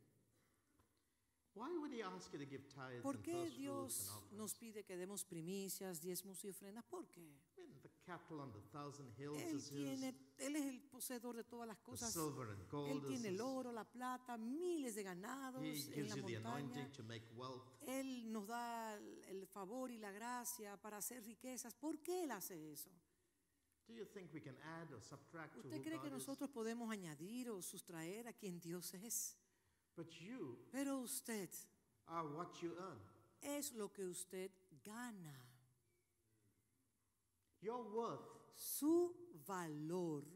why would he ask you to give tithes ¿Por and qué first fruits Dios and offerings? nos pide que demos primicias, diezmos y ofrendas? ¿Por qué? I mean, the cattle on the thousand hills Él is his. tiene, él es el poseedor de todas las The cosas. silver and gold Él is tiene el his. oro, la plata, miles de ganados He en gives la you the montaña. anointing to make wealth. Él nos da el- el favor y la gracia para hacer riquezas. ¿Por qué Él hace eso? Do you think we can add or subtract to ¿Usted who cree God que is? nosotros podemos añadir o sustraer a quien Dios es? But you Pero usted are what you earn. es lo que usted gana. Your worth Su valor is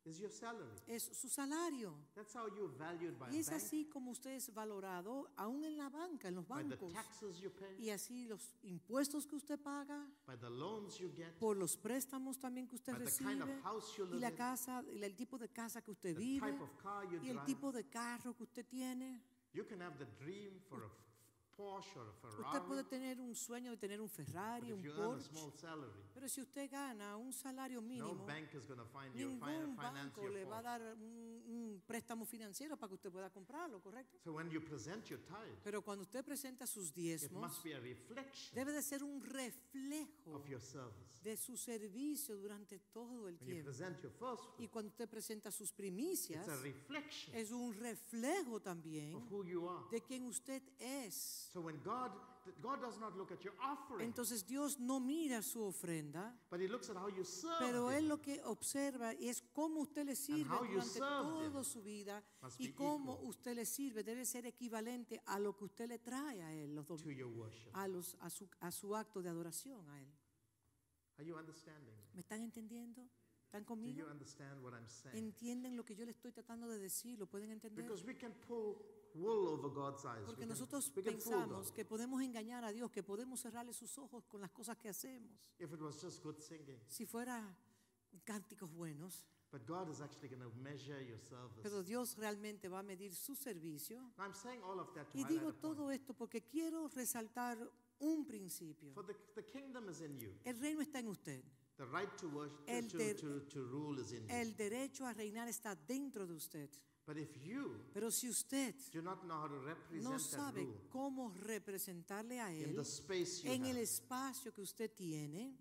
is your salary. es su salario. That's how you're valued by Y a es bank, así como usted es valorado aún en la banca, en los by the bancos. taxes you pay, Y así los impuestos que usted paga, by the loans you get, por los préstamos también que usted by the kind of recibe, house you y live la in, casa, y el tipo de casa que usted the vive, type of car you y el drive. tipo de carro que usted tiene. You can have the dream for a Porsche or a Usted puede Ferrari, tener un sueño de tener un but Ferrari, if un you earn a Porsche, small salary, pero si usted gana un salario no mínimo, bank is going to find you fi- ningún finance banco your le va a Porsche. dar un, un préstamo financiero para que usted pueda comprarlo, ¿correcto? So when you present your tithe, Pero cuando usted presenta sus it diezmos, must be a reflection debe de ser un reflejo of your service. de su servicio durante todo el When you tiempo. present your first Y fruit, cuando usted presenta sus primicias, it's a reflection es un reflejo también of who you are. de quien usted es. So when God, God does not look at your offering, Entonces Dios no mira su ofrenda, but He looks at how you serve pero Él Him. lo que observa es cómo usted le sirve how you durante served toda Him su vida must y be cómo equal usted le sirve debe ser equivalente a lo que usted le trae a Él, los dom- to your worship. a, los, a, su, a su acto de adoración a Él. Are you understanding? ¿Me están entendiendo? ¿Están Do conmigo? you understand what I'm saying? ¿Entienden lo que yo le estoy tratando de decir? ¿Lo pueden entender? Because we can pull wool over God's eyes. Porque We can, nosotros we can fool pensamos God. que podemos engañar a Dios, que podemos cerrarle sus ojos con las cosas que hacemos. If it was just good singing. Si fuera cánticos buenos, But God is actually going to measure your service. pero Dios realmente va a medir su servicio. Now, I'm saying all of that to Y highlight digo a point. todo esto porque quiero resaltar un principio. For the, the kingdom is in you. El reino está en usted. The right to worship, El to, der- to, to rule is in you. El derecho a reinar está dentro de usted. But if you Pero si usted do not know how to represent no that sabe rule cómo representarle a in Él the space you en el have, espacio que usted tiene,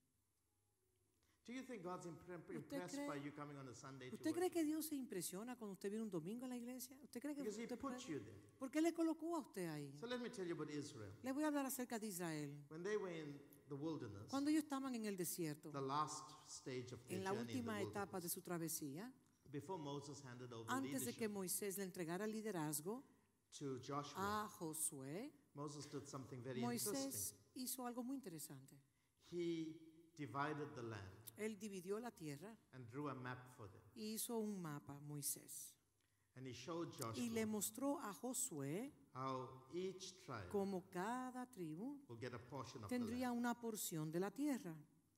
do you think God's impre- impressed cree- by you coming on a Sunday to ¿usted cree worship? que Dios se impresiona cuando usted viene un domingo a la iglesia? ¿Usted cree que Because He usted put puede- you there. ¿Por qué le colocó a usted ahí? So let me tell you about Israel. Le voy a hablar acerca de Israel. When they were in the wilderness, Cuando ellos estaban en el desierto, the last stage of their en la journey in the última etapa de wilderness, su travesía, before Moses handed over antes de que leadership Moisés le entregara el liderazgo to Joshua, a Josué, Moses did something very interesting. Moisés hizo algo muy interesante. He divided the land Él dividió la tierra and drew a map for them. y hizo un mapa, Moisés. And he showed Y le Joshua mostró a Josué how each tribe cómo cada tribu will get a portion of the tendría land. una porción de la tierra.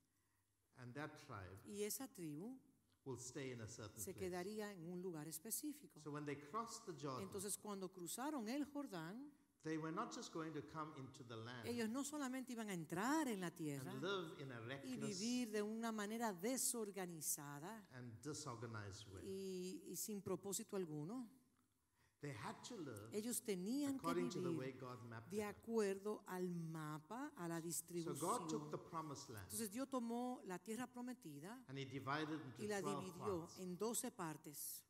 And that tribe Y esa tribu will stay in a certain se place. quedaría en un lugar específico. So when they crossed the Jordan, Entonces, cuando cruzaron el Jordán, they were not just going to come into the land ellos no solamente iban a entrar en la tierra and live in a y reckless vivir de una manera desorganizada and disorganized way. y, y sin propósito alguno. They had to live Ellos tenían que according to the way vivir God mapped de it out. acuerdo al mapa, a la So distribución. God took the promised land Entonces Dios tomó la tierra prometida and He divided into y la twelve dividió parts. en doce partes.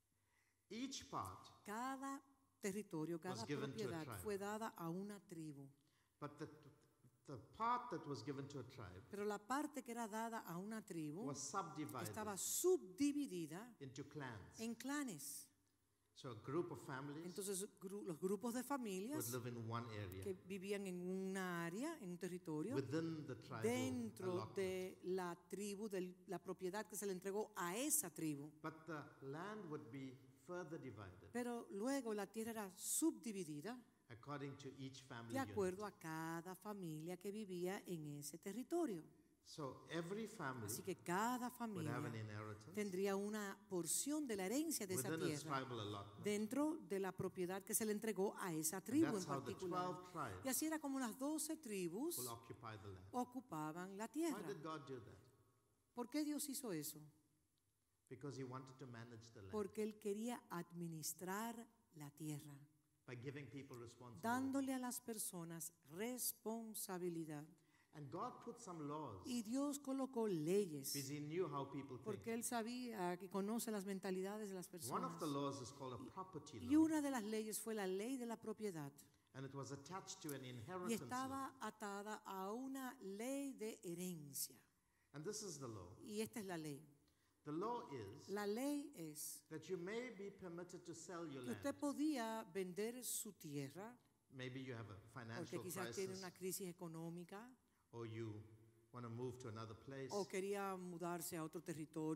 Each part, Cada territorio, cada Was given to a propiedad tribe. fue dada a una tribu. but the, the part that was given to a tribe Pero la parte que era dada a una tribu was subdivided estaba subdividida into clans. en clanes. So a group of families Entonces gru- los grupos de would familias live in one area que vivían en una área, en un territorio, within the tribal dentro allotment. de la tribu, de la propiedad que se le entregó a esa tribu. But the land would be further divided Pero luego la tierra era subdividida according to each family de unit. acuerdo a cada familia que vivía en ese territorio. So every family Así que cada would familia have an inheritance tendría una porción de la herencia de esa within its tierra tribal allotment. dentro de la propiedad que se le entregó a esa And tribu en that's how the particular. twelve Y tribes así era como las doce tribus will occupy the land. ocupaban la Why tierra. did God do that? ¿Por qué Dios hizo eso? Because He wanted to manage the land Porque Él quería administrar la tierra, by giving people responsibility. dándole a las personas responsabilidad. And God put some laws Y Dios colocó leyes, because He knew how people think. porque Él sabía que conoce las mentalidades de las One personas. of the laws is called a property Y law, una de las leyes fue la ley de la propiedad. and it was attached to an Y inheritance law. estaba atada a una ley de herencia. And this is the law. Y esta es la ley. The law is La ley es that you may be permitted to sell your que land. usted podía vender su tierra, Maybe you have a porque financial quizás tiene crisis, una crisis económica, or you want to move to another place. o quería mudarse a otro territorio,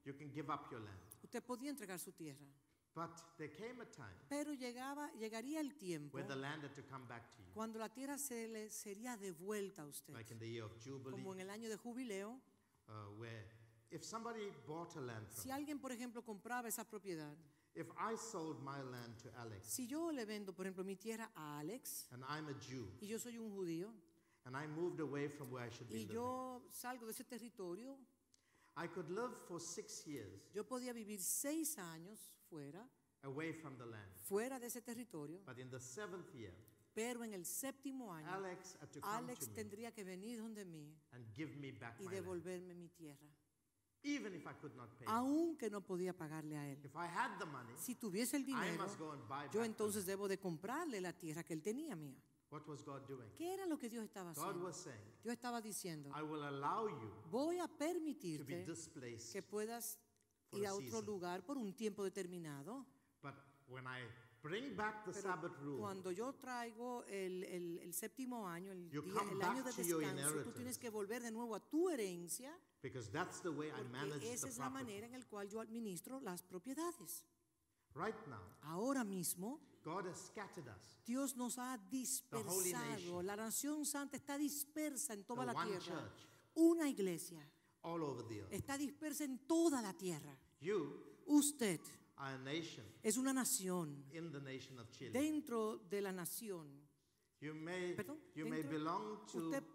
You can give up your land. Usted podía entregar su tierra. But there came a time Pero llegaba, llegaría el tiempo where the land had to come back to you. cuando la tierra se le sería devuelta a usted. Like in the year of Jubilee, Como en el año de jubileo, uh, where if somebody bought a land from si me, alguien, por ejemplo, compraba esa propiedad, if I sold my land to Alex, si yo le vendo, por ejemplo, mi tierra a Alex and I'm a Jew, y yo soy un judío and I moved away from where I should be y living, yo salgo de ese territorio, I could live for six years yo podía vivir seis años fuera, away from the land. fuera de ese territorio, But in the seventh year, pero en el séptimo año, Alex had to come Alex to me tendría que venir donde mí and give me back y my land, devolverme mi tierra, even if I could not pay. aunque no podía pagarle a él. If I had the money, Si tuviese el I dinero, must go and buy yo back entonces the land. debo de comprarle la tierra que él tenía mía. What was God doing? ¿Qué era lo que Dios estaba God haciendo? was saying, Dios estaba diciendo, I will allow you voy a to be permitirte displaced que puedas for ir a a otro season. lugar por un tiempo determinado. But when I bring back the Pero Sabbath rule, cuando yo traigo el, el- el séptimo año, el, You día- come el año de back to your descanso, tú inheritance. tienes que volver de nuevo a tu herencia, because that's the way I manage porque esa the es la property. manera en la cual yo administro las propiedades. Right now, Ahora mismo, God has scattered us. Dios nos ha dispersado. nation. La nación santa está dispersa en toda The la one tierra. church. Una iglesia All over the earth. está dispersa en toda la tierra. You Usted are a nation es una nación in the nation of Chile. dentro de la nación. You may, Perdón, you may dentro- belong to, Usted,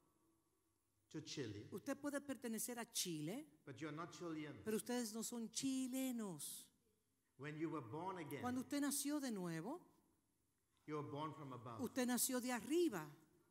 to Chile, usted puede pertenecer a Chile, but you're not Chilean. pero ustedes no son chilenos. When you were born again, Cuando usted nació de nuevo, you were born from above. usted nació de arriba.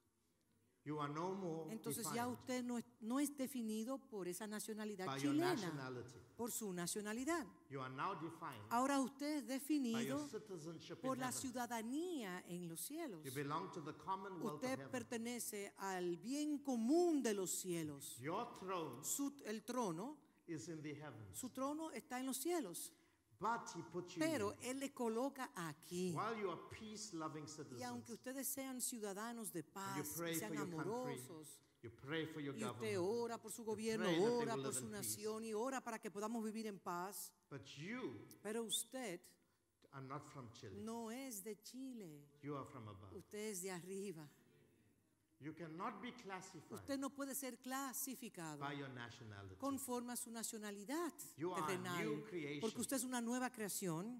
You are no more Entonces ya defined usted no es, no es definido por esa nacionalidad by your chilena, nationality. por su nacionalidad. You are now defined Ahora usted es by your definido citizenship por in la heaven. ciudadanía en los cielos. You belong to the commonwealth of Usted heaven. pertenece al bien común de los cielos. Your throne Su- el trono, is in the heavens, su trono está en los cielos, but he put you pero here. Él le coloca aquí. While you are peace-loving Y aunque citizens, ustedes sean ciudadanos de and paz, you pray y for sean your country, amorosos, you pray for your y usted government, ora por su gobierno, pray that they ora will por live su in peace. nación y ora para que podamos vivir en paz, but you pero usted are not from Chile. no es de Chile, You are from above. usted es de arriba. You cannot be classified Usted no puede ser clasificado by your nationality. conforme a su nacionalidad You are a terrenal, new creation. porque usted es una nueva creación,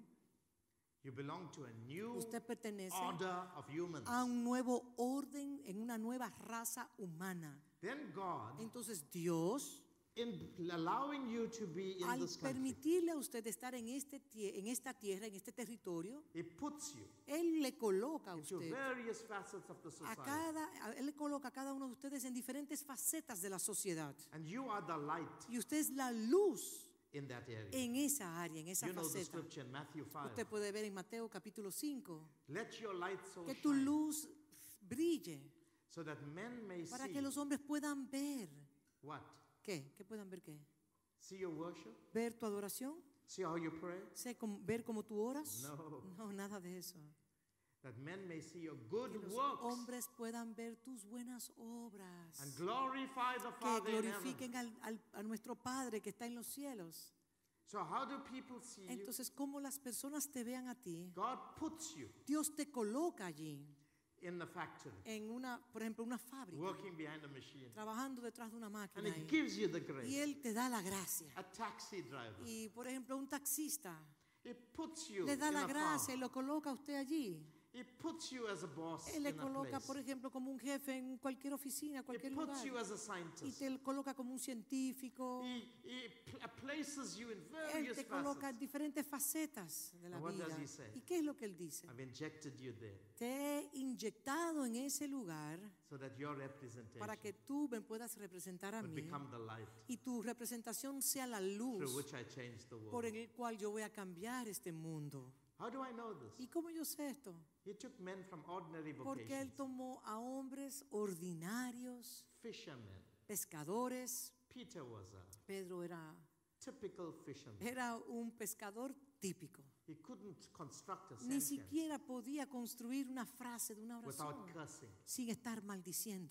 You belong to a new usted pertenece order of humans. a un nuevo orden, en una nueva raza humana. Then God, Entonces Dios, in allowing you to be in al this country, permitirle a usted estar en, este, tie- en esta tierra, en este territorio, He puts you Él le coloca a into usted, various facets of the a society. cada, a- Él le coloca a cada uno de ustedes en diferentes facetas de la sociedad. And you are the light Y usted es la luz in that area. en esa área, en esa You know the faceta. scripture in Matthew five. Usted puede ver en Mateo capítulo cinco Let your light so que tu shine luz brille so that men may para see que los hombres puedan ver. what? ¿Qué? ¿Qué puedan ver qué? See your worship? ¿Ver tu adoración? See how you pray? ¿Sé cómo- ¿Ver cómo tú oras? No. No, nada de eso. That men may see your good Que los works hombres puedan ver tus buenas obras. and glorify the Que Father in heaven. glorifiquen al- al- a nuestro Padre que está en los cielos. So how do people see you? Entonces, ¿cómo las personas te vean a ti? God puts you Dios te coloca allí, in the factory, en una, por ejemplo, una fábrica, working behind a machine. trabajando detrás de una And máquina. it ahí. gives you the Y grace. Él te da la gracia. A taxi driver. Y, por ejemplo, un taxista It puts you le da in la a gracia y farm. lo coloca a usted allí. It puts you as a boss Él le in a coloca, place. por ejemplo, como un jefe en cualquier oficina, cualquier It puts lugar. you as a Y scientist. te coloca como un científico. He, he pl- places you in Él various te coloca en facets. diferentes facetas de la And what vida. does he say? ¿Y qué es lo que Él dice? I've injected you there Te he inyectado en ese lugar so that your representation para que tú me puedas representar a would mí become the light y tu representación sea la through luz which I change the por world. el cual yo voy a cambiar este mundo. How do I know this? ¿Y cómo yo sé esto? He took men from ordinary Porque Él vocations, tomó a hombres ordinarios, fishermen. pescadores. Peter was a Pedro era, typical fisherman. era un pescador típico. He couldn't construct a Ni sentence siquiera podía construir una frase de una oración without cursing. sin estar maldiciendo.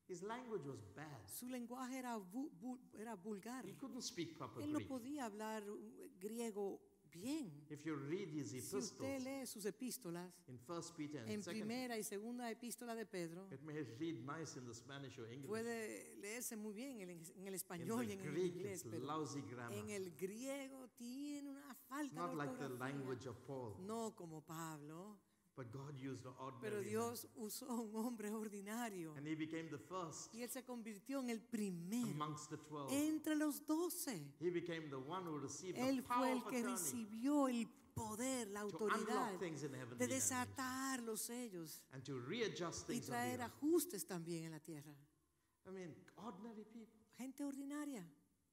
His language was bad. Su lenguaje era, vu- vu- era vulgar. He couldn't speak proper Él no Greek. podía hablar uh, griego bien. If you read his Si epistles usted lee sus epístolas, in First Peter and en Second, primera y segunda epístola de Pedro, it may read nice in the Spanish or English. puede leerse muy bien en el, en el In español y the en el Greek, inglés, it's pero lousy grammar. en el griego tiene una It's falta de not like the ortografía. language of Paul, No como Pablo, but God used an pero ordinary man. Dios usó a un hombre ordinario And he became the first y él se convirtió en el primero amongst the twelve. entre los doce. He became the one who received the Él power fue el of que attorney recibió el poder, la to autoridad unlock things in de heavenly language desatar los sellos and to readjust y things on the traer earth. ajustes también en la tierra. I mean, ordinary people, Gente ordinaria,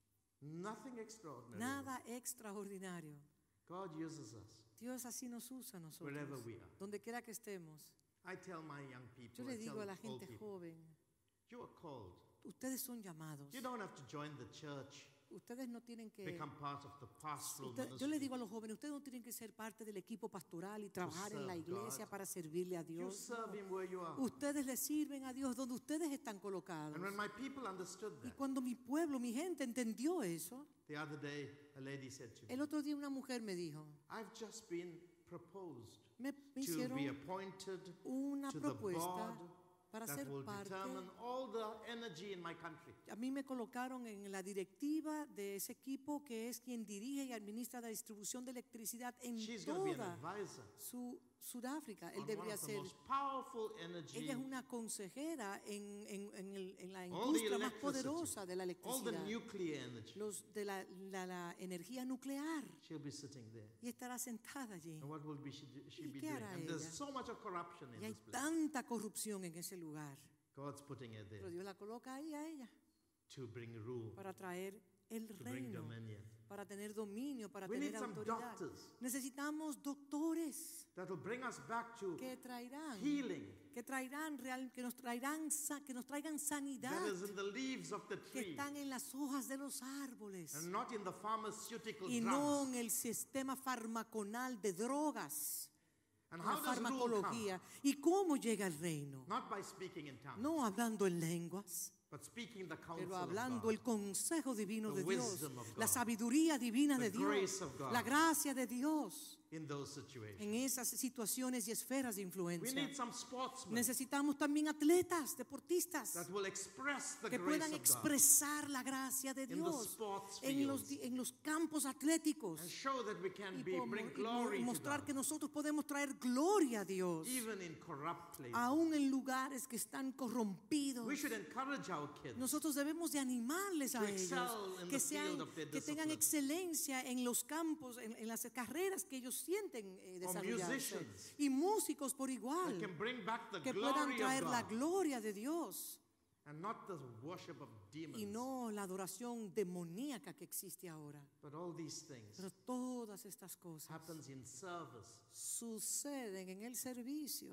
nothing extraordinary. nada extraordinario. God uses us Dios así nos usa a nosotros, wherever we are. donde quiera que estemos. I tell my young Yo people, le I digo tell a la old gente people, joven, you are called. ustedes son llamados. You don't have to join the church, Ustedes no tienen que... become part of the pastoral usted- yo ministry. le digo a los jóvenes, ustedes no tienen que ser parte del equipo pastoral y trabajar en la serve iglesia God. para servirle a You Dios. serve Him where you are. Ustedes le sirven a Dios donde ustedes están colocados. And when my people understood Y that, cuando mi pueblo, mi gente entendió eso, the other day a lady said to me, el otro día una mujer me dijo, I've just been proposed me, me to be hicieron appointed una to the propuesta board para that ser will parte. determine all the energy in my country. A mí me colocaron en la directiva de ese equipo que es quien dirige y administra la distribución de electricidad en She's going to be an toda advisor su Sudáfrica. Él on one debería of the ser. most powerful energy, Ella es una consejera en, en- en el- en la all the industria más electricity, poderosa de la all the electricidad, nuclear energy. los de la, la- la energía nuclear, She'll be sitting there. y estará sentada allí. And what will be she, do- she ¿Y be qué doing? hará And there's ella? so much of corruption in Y hay this place. tanta corrupción en ese lugar, God's putting her pero there Dios la coloca ahí a ella to bring rule, para traer el to bring reino, dominion. para tener dominio, para We need tener some autoridad. doctors Necesitamos doctores that will bring us back to que traerán, healing que traerán real, que nos traerán, sa- que nos traigan sanidad, that is in the leaves of the que tree están en las hojas de los árboles and not in the pharmaceutical y no drugs. en el sistema farmaconal de drogas, And la how does rule come? farmacología. ¿Y cómo llega el reino? Not by speaking in tongues, No hablando en lenguas, but speaking the counsel pero of hablando God. el consejo divino The de Dios, wisdom of la God. sabiduría divina The de Dios, grace of God. la gracia de Dios in those situations. en esas situaciones y esferas de We influencia. need some sportsmen Necesitamos también atletas, deportistas, that will express the que grace puedan of God expresar la gracia de in the Dios sports en los, fields di- en los campos atléticos and show that we can y, be, como- bring y mo- glory y to mostrar God, que nosotros podemos traer gloria a Dios, even in corrupt places. aún en lugares que están corrompidos. We should encourage our kids Nosotros debemos de animarles a to ellos, excel in que, the sean, field of their que tengan discipline. excelencia en los campos, en, en las carreras que ellos sienten eh, Or desarrollarse. musicians Y músicos por that igual, can bring back the que puedan glory traer of la God gloria de Dios and not the worship of demons. y no la adoración demoníaca que existe ahora. But all these things Pero todas estas cosas happens in service. suceden en el servicio.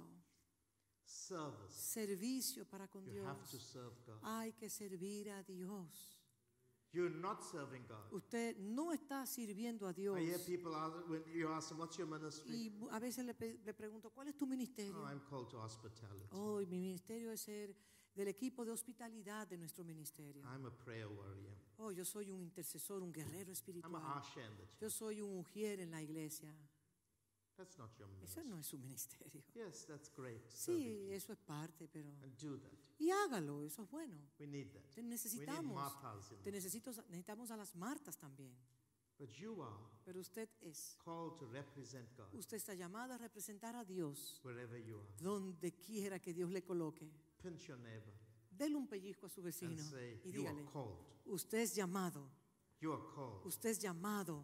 Service. Servicio para con You have to Dios. serve God. Hay que servir a Dios. You're not serving God. Usted no está sirviendo a Dios. I hear people ask, when you ask them, what's your ministry? Y bu- a veces le, pe- le pregunto, ¿cuál es tu ministerio? Oh, I'm called to hospitality. Oh, y mi ministerio es ser del equipo de hospitalidad de nuestro ministerio. I'm a prayer warrior. Oh, yo soy un intercesor, un guerrero I'm espiritual. a usher in the church. Yo soy un ujier en la iglesia. That's not your Ese ministry. no es su ministerio. Yes, that's great. serving Sí, people. eso es parte, pero... And do that. Y hágalo, eso es bueno. We need that. Te We need necesitamos. martyrs in Te that. necesito, necesitamos a las Martas también. But you are Pero usted es. called to represent God Usted está llamado a representar a Dios wherever you are. donde quiera que Dios le coloque. Pinch your neighbor Dele un pellizco a su and vecino say, y you are dígale, called. usted es llamado, You are called. usted es llamado.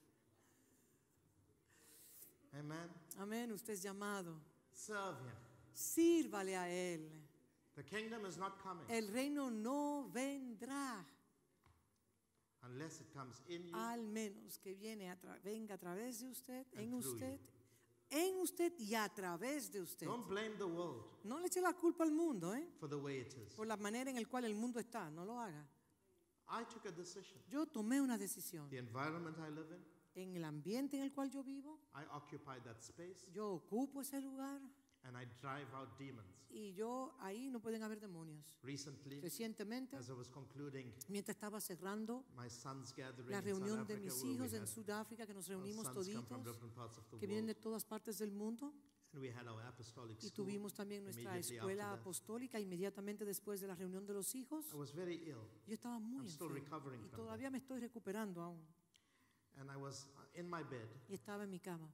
Amen. Amén, usted es llamado. Serve Him. Sírvale a Él. The kingdom is not coming El reino no vendrá unless it comes in you al menos que viene a tra- venga a través de usted, And en through usted, en usted y a través de usted. Don't blame the world No le eche la culpa al mundo, ¿eh? for the way it is. Por la manera en la cual el mundo está, no lo haga. I took a decision. Yo tomé una decisión. The environment I live in, En el ambiente en el cual yo vivo, I occupy that space, yo ocupo ese lugar and I drive out demons. Y yo ahí no pueden haber demonios. Recently, Recientemente, as I was concluding mientras estaba cerrando my son's gathering la in South reunión de Africa, mis where we hijos en had Sudáfrica, que nos our reunimos sons come toditos, from different parts of the que vienen de world, todas partes del mundo, and we had our apostolic y school. tuvimos también nuestra immediately escuela after that. apostólica inmediatamente después de la reunión de los hijos. I was very ill, Yo estaba muy I'm still enfermo recovering y from todavía me estoy recuperando aún. and I was uh, in my bed, Y estaba en mi cama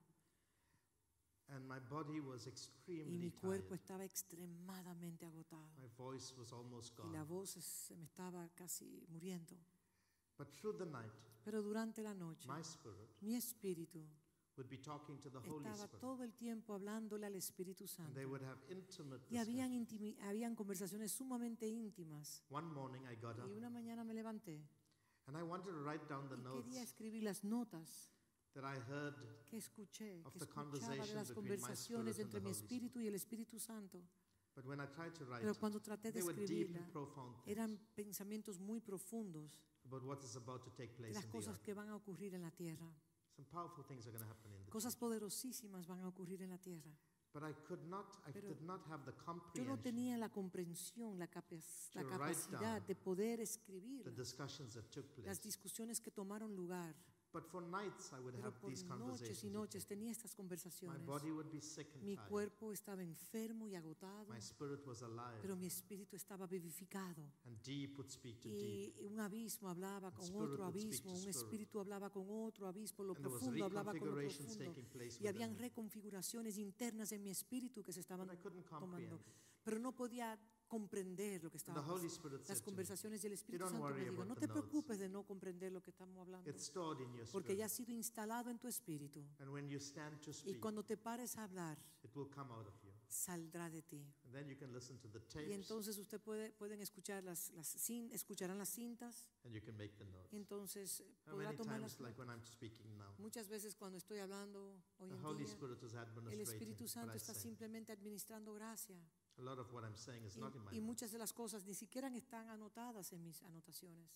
and my body was y extremely mi cuerpo tired. estaba extremadamente agotado My voice was almost y la gone. voz es- se me estaba casi muriendo. But through the night, Pero durante la noche, my spirit mi espíritu would be talking to the Holy estaba Spirit, todo el tiempo hablándole al Espíritu and Santo. they would have intimate Y habían, discussions. intimi- habían conversaciones sumamente íntimas. One morning I got up, Y una mañana me levanté and I wanted to write down the y notes quería escribir las notas that I heard, que escuché, of que the escuchaba de conversation las between my conversaciones spirit and entre the mi Holy espíritu y el Espíritu Santo. but when I tried to write, Pero cuando traté de they were deep escribirla, and profound things eran pensamientos muy profundos about what is about to take de place las in the cosas earth. que van a ocurrir en la tierra. Some powerful things are going to happen in the Cosas church. poderosísimas van a ocurrir en la tierra. But I could not, I Pero did not have the Yo no comprehension, tenía la comprensión, la, capac- la to write capacidad down de poder the escribir discussions that took las place. discusiones que tomaron lugar. But for nights I would Pero have por these noches conversations. y with noches them. tenía estas My conversaciones. body would be sick and Mi tired. cuerpo estaba enfermo y agotado, My spirit was alive, pero mi espíritu estaba vivificado. and deep would speak to deep. Y un abismo hablaba con spirit otro would speak abismo, to un spirit. espíritu hablaba con otro abismo, lo And there was profundo hablaba con lo reconfigurations profundo. taking place Y habían within me. reconfiguraciones internas en mi espíritu que se estaban But I couldn't tomando. comprehend. Pero no podía comprender lo que And estaba the Holy pasando. Spirit Las said to me, conversaciones y el Espíritu don't Santo me worry dijo, about no the te notes. preocupes de no comprender lo que estamos hablando, It's stored in your porque ya ha spirit. sido instalado en tu espíritu. And when you stand to Y speak, cuando te pares a hablar, it will come out of you. saldrá de ti. And then you can listen to the Y tapes, entonces usted puede, pueden escuchar las, las cin- escucharán las cintas. and you can make the notes. Y entonces eh, How podrá many tomar times, las like when I'm speaking now, Muchas veces cuando estoy hablando hoy the en Holy día, Spirit is el administrating Espíritu what Santo I está say. simplemente administrando gracia. A lot of what I'm saying is Y, not in my y notes. muchas de las cosas ni siquiera están anotadas en mis anotaciones.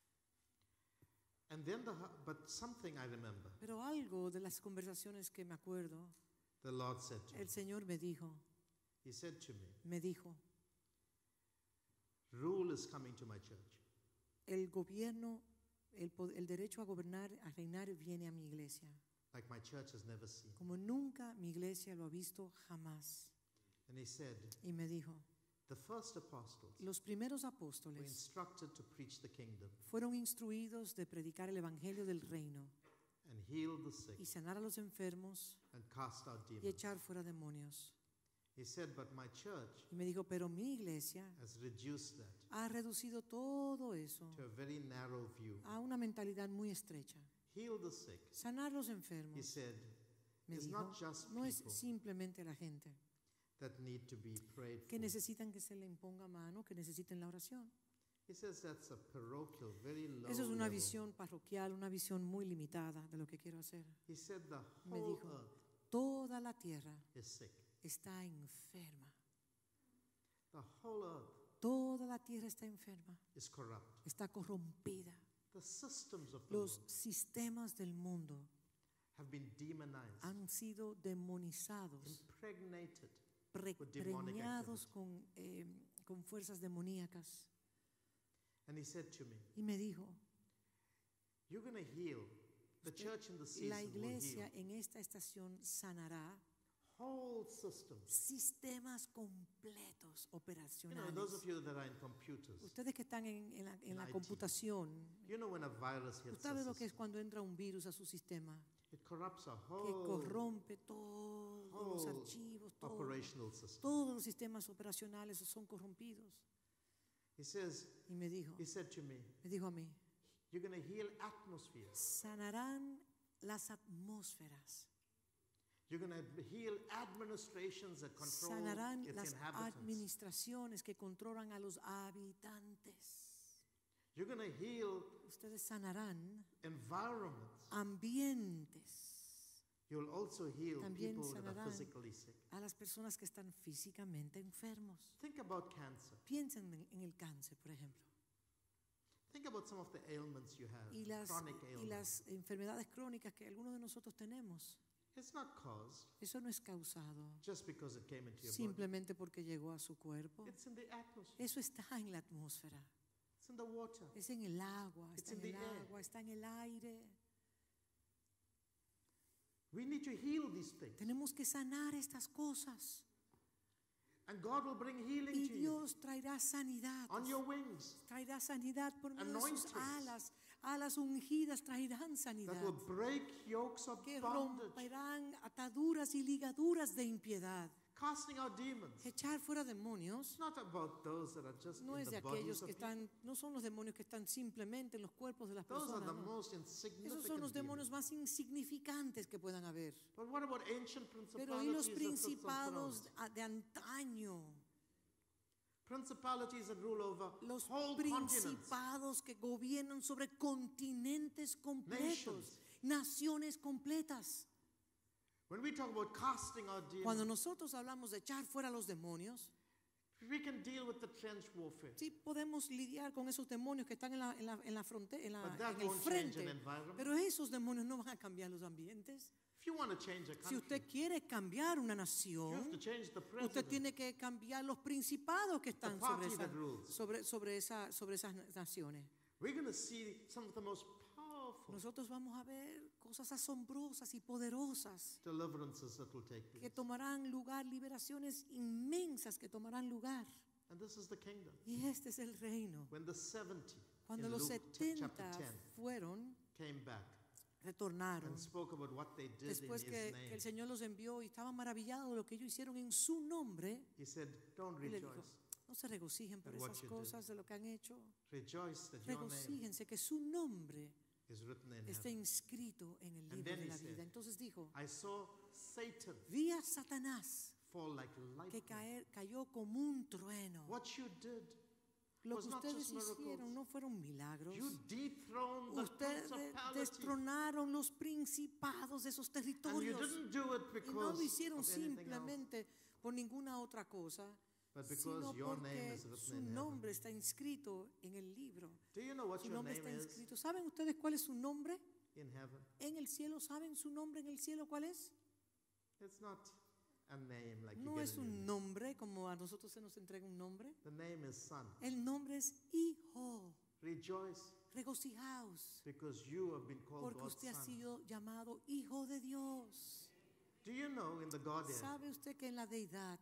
And then the, hu- but something I remember, Pero algo de las conversaciones que me acuerdo, the Lord said to me, el Señor me dijo, He said to me, me dijo, rule is coming to my church. el gobierno, el, po- el derecho a gobernar, a reinar viene a mi iglesia. Like my church has never seen. Como nunca mi iglesia lo ha visto jamás. And he said, Y me dijo, the first apostles los primeros were apóstoles instructed to preach the kingdom fueron instruidos de predicar el evangelio del reino and heal the sick y sanar a los enfermos and cast out y demons. echar fuera demonios. He said, but my church Y me dijo, pero mi iglesia has reduced that ha reducido todo eso to a very narrow view. a una mentalidad muy estrecha. Heal the sick, Sanar los he enfermos, said, me is dijo, not just no es people simplemente la gente that need to be prayed que for. necesitan que se le imponga mano, que necesiten la oración. He says that's a parochial, very low Eso es una level. visión parroquial, una visión muy limitada de lo que quiero hacer. He said the Me whole dijo, earth toda la tierra is sick. está enferma. The whole earth Toda la tierra está enferma, is corrupt. está corrompida. The systems of the Los world sistemas del mundo have been demonized, han sido demonizados, impregnated. pre- with demonic preñados activity. con, eh, con fuerzas demoníacas. And he said to me, Y me dijo, you're going to heal. The Usted- church in the season la will iglesia heal en esta estación sanará whole systems. sistemas completos You know, operacionales. those of you that are in computers, Ustedes que están en, en la, en in la I T. computación, you know when a virus hits ¿usted a sabe lo que es system, cuando entra un virus a su sistema? it corrupts a Que whole corrompe todos los whole archivos, todo. operational system. Todos los sistemas operacionales son corrompidos. He says, Y me dijo, he said to me, me dijo a mí, you're going to heal atmospheres. sanarán las atmósferas, You're going to heal administrations that control sanarán its las inhabitants. administraciones que controlan a los habitantes. You're going to heal Ustedes sanarán environments. ambientes, You'll also heal También people that are sanarán physically sick. a las personas que están físicamente enfermos. Think about cancer. Piensen en, en el cáncer, por ejemplo, Think about some of the ailments you have, y las, chronic y ailments. las enfermedades crónicas que algunos de nosotros tenemos. It's not caused Eso no es causado just because it came into your body. simplemente porque llegó a su cuerpo. It's in the atmosphere. Eso está en la atmósfera, It's in the water. es en el agua, It's está en in el the air. agua, está en el aire. We need to heal these things. Tenemos que sanar estas cosas And God will bring healing y to you Dios traerá sanidad. on your wings Traerá sanidad por medio de sus Anointings. alas. Alas ungidas traerán that sanidad. will break yokes of Que bondage, romperán ataduras y ligaduras de impiedad. casting out demons. Echar fuera demonios It's not about those that are just no in es the de bodies aquellos of que people. están, no son los demonios que están simplemente en los cuerpos de las Those are personas. the no. most Esos son insignificant los demonios demons. más insignificantes que puedan haber. But what about ancient Pero ¿y los principalities that sit on principados thrones? a- de antaño? Principalities that rule over Los whole continents. principados que gobiernan sobre continentes completos, Nations. naciones completas. When we talk about casting out Cuando demons, nosotros hablamos de echar fuera los demonios, we can deal with the trench warfare. sí podemos lidiar con esos demonios que están en la, en la, en la fronte- en, la- But that en el won't change frente. an environment. Pero esos demonios no van a cambiar los ambientes. If you want to change a Si country, usted quiere cambiar una you have to nación, change the usted president. tiene que cambiar los principados que están sobre, party esa- that rules. sobre, sobre, esa- sobre esas naciones. We're going to see some of the most powerful Nosotros vamos a ver cosas asombrosas y poderosas deliverances that will take que place. tomarán lugar, liberaciones inmensas que tomarán lugar. And this is the kingdom. Y este es el reino. When the seventy Cuando in los Luke t- chapter setenta ten fueron, came back retornaron, and spoke about what they did después in que, his que name, el Señor los envió y estaban maravillados de lo que ellos hicieron en su nombre, he said, don't y le dijo, rejoice. no se regocijen por at what esas you did. cosas de lo que han hecho. Rejoice that your name Regocíjense que su nombre is written in está heaven. inscrito en el And libro then de he la said, vida. Entonces dijo, I saw Satan vi a Satanás fall like que lightning. caer, cayó como un trueno. What you did, Lo was que not ustedes just miracles. hicieron no fueron milagros. you dethroned the Ustedes principality. destronaron los principados de esos And you territorios. didn't do it Y no lo because hicieron of anything else, simplemente por ninguna otra cosa, but sino because your name porque is written su in heaven. nombre está inscrito en el libro. Do you know what Su your nombre name está is inscrito. ¿Saben ustedes cuál es su nombre in heaven? en el cielo? ¿Saben su nombre en el cielo cuál es? It's not a name like you No get es in your un name. nombre como a nosotros se nos entrega un nombre. The name is Son. El nombre es Hijo. Rejoice Regocijaos because you have been called porque God's usted ha son. sido llamado Hijo de Dios. Do you know in the Godhead, ¿Sabe usted que en la deidad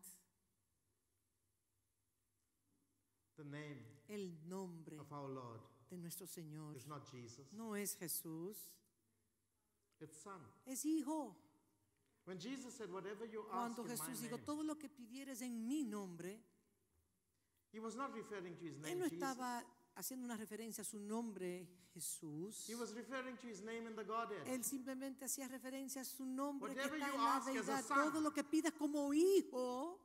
the name el nombre of our Lord de nuestro Señor is not Jesus, no es Jesús, it's Son. es Hijo? When Jesus said, whatever you ask Cuando in my Jesús dijo, name, todo lo que pidieres en mi nombre, he was not referring to his name Él no Jesus. estaba haciendo una referencia a su nombre Jesús. He was referring to his name in the Godhead. Él simplemente hacía referencia a su nombre que Whatever está you en la ask as a deidad. son. Todo lo que pidas como hijo,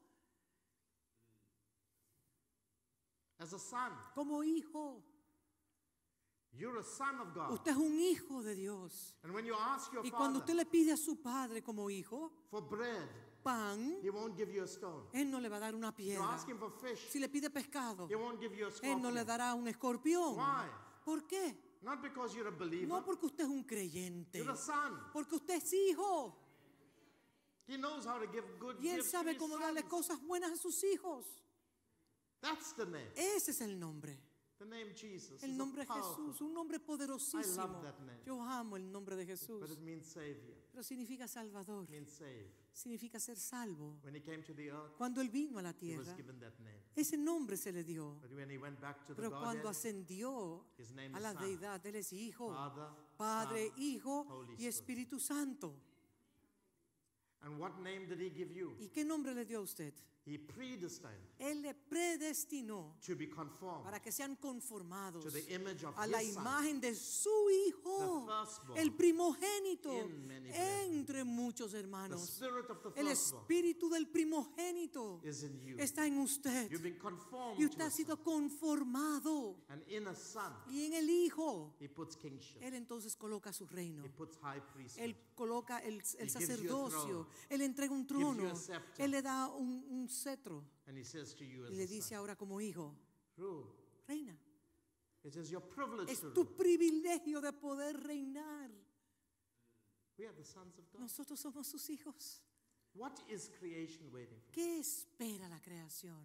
As a son, como hijo. you're a son of God. Usted es un hijo de Dios. And when you ask your Y cuando father usted le pide a su padre como hijo, for bread, pan, he won't give you a stone. Él no le va a dar una You piedra. ask him for fish, Si le pide pescado, he won't give you a Él no le scorpion. dará un escorpión. Why? ¿Por qué? Not because you're a believer. No porque usted es un creyente, You're a son. porque usted es hijo. He knows how to give good Y Él gifts to sabe his cómo darle sons. cosas buenas a sus hijos. That's the name. Ese es el nombre. The name Jesus. El is a nombre powerful, Jesús, un nombre poderosísimo. I love that name. Yo amo el nombre de Jesús. But it means Savior. Pero significa Salvador, It means save. significa ser salvo. When he came to the earth, Cuando Él vino a la he was tierra, given that name. ese nombre se le dio. But when he went back to the Pero cuando Godhead, ascendió his name a is la Son. deidad, Él es Hijo, Father, Padre, Son, Hijo Holy y Spirit. Espíritu Santo. And what name did he give you? ¿Y qué nombre le dio a usted? He predestined Él le predestinó to be conformed para que sean conformados to the image of a la his Son, imagen de su Hijo, the firstborn, el primogénito in many brethren. entre muchos the hermanos. spirit of the El firstborn espíritu del primogénito is in you. está en usted You've been conformed y to usted ha a sido son. conformado. And in a son, Y en el Hijo, he puts kingship. Él entonces coloca su reino. He puts high priesthood. Él coloca el, el gives you a sacerdocio, throne. Él entrega un Gives you trono, a scepter. Él le da un, un cetro And he says to you as y le a dice son, ahora como hijo, rule. reina. It is your privilege Es to tu rule. privilegio de poder reinar. We are the sons of God. Nosotros somos sus hijos. What is creation waiting for? ¿Qué espera la creación?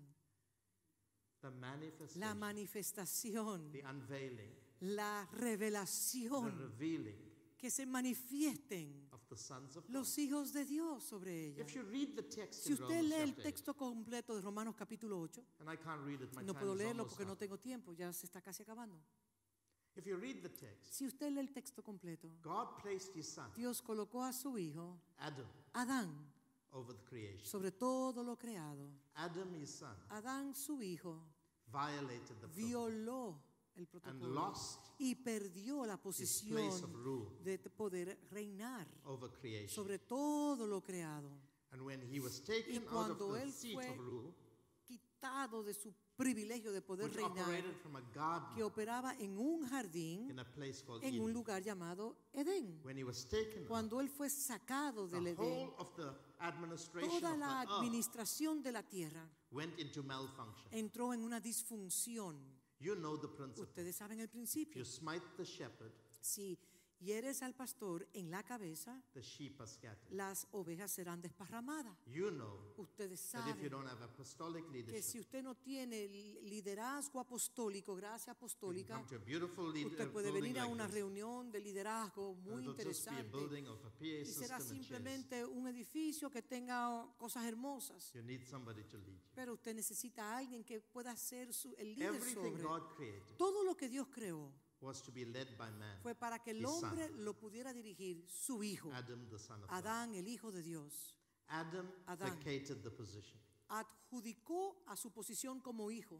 The manifestation, La manifestación, the unveiling, la the revelación, revealing que se manifiesten of the sons of God. los hijos de Dios sobre ella. If you read the text Si in usted Romans lee el chapter texto completo de Romanos capítulo ocho, eight, and I can't read it, my no time puedo is leerlo almost porque no up. tengo tiempo, ya se está casi acabando. If you read the text, Si usted lee el texto completo, God placed his son, Dios colocó a su hijo, Adam, Adán, over the creation. sobre todo lo creado. Adam, his son, Adán, su hijo, violated the protocol violó el and protocolo lost y perdió la his place posición of rule de poder reinar over creation. sobre todo lo creado, And when he was taken out cuando of the él seat fue of rule, quitado de su privilegio de poder which reinar, operated from a garden que operaba en un jardín, in a place called en un Eden, lugar llamado Edén. when he was taken out, Cuando él fue sacado del the Edén, whole of the administration toda of la the earth administración de la tierra went into malfunction. entró en una disfunción. You know the principle. Ustedes saben el If principio. you smite the shepherd, Si hieres al pastor en la cabeza, the sheep are scattered. las ovejas serán desparramadas. You know Ustedes that if you saben don't have apostolic que si leadership, usted no tiene liderazgo apostólico, gracia you can apostólica, come to a beautiful lead, usted uh, puede building venir a like una this. reunión de liderazgo muy It'll just be a interesante building of a P A y será system and chairs. simplemente un edificio que tenga cosas hermosas. You need somebody to lead you. Pero usted necesita a alguien que pueda ser su, el líder Everything sobre. God created Todo lo que Dios creó was to be led by man. fue para que el His son. hombre lo pudiera dirigir, su hijo, Adam, the son of God. Adán, el hijo de Dios. Adam Adán. vacated the position. Adjudicó a su posición como hijo.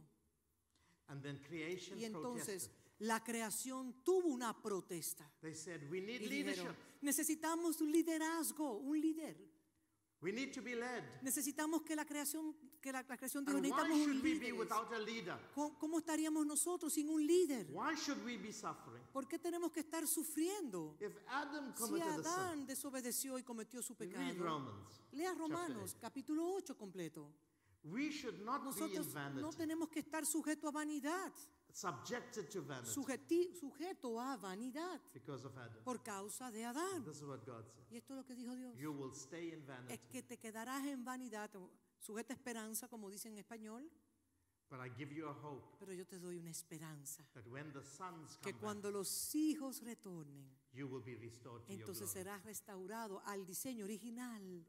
And then creation Y entonces protested. la creación tuvo una protesta. They said, we need Y leadership. dijeron, necesitamos un liderazgo, un líder. We need to be led. Necesitamos que la creación, que la, la creación dijo, And why necesitamos un should we be líder. without a leader? ¿Cómo, cómo estaríamos nosotros sin un líder? Why should we be suffering? ¿Por qué tenemos que estar sufriendo? If Adam Si committed a sin, Adán desobedeció y cometió su read pecado, Romans. lea chapter Romanos eight. capítulo ocho completo. We should not be in Nosotros vanity, no tenemos que estar sujetos a vanidad, subjected to vanity sujeti- sujeto a vanidad because of Adam. por causa de Adán. This is what God said. Y esto es lo que dijo Dios. You will stay in Es vanity, que te quedarás en vanidad, o sujeta a esperanza, como dicen en español, but I give you a hope pero yo te doy una esperanza. that when the sons Que come cuando back, los hijos retornen, you will be restored to your entonces glory. serás restaurado al diseño original.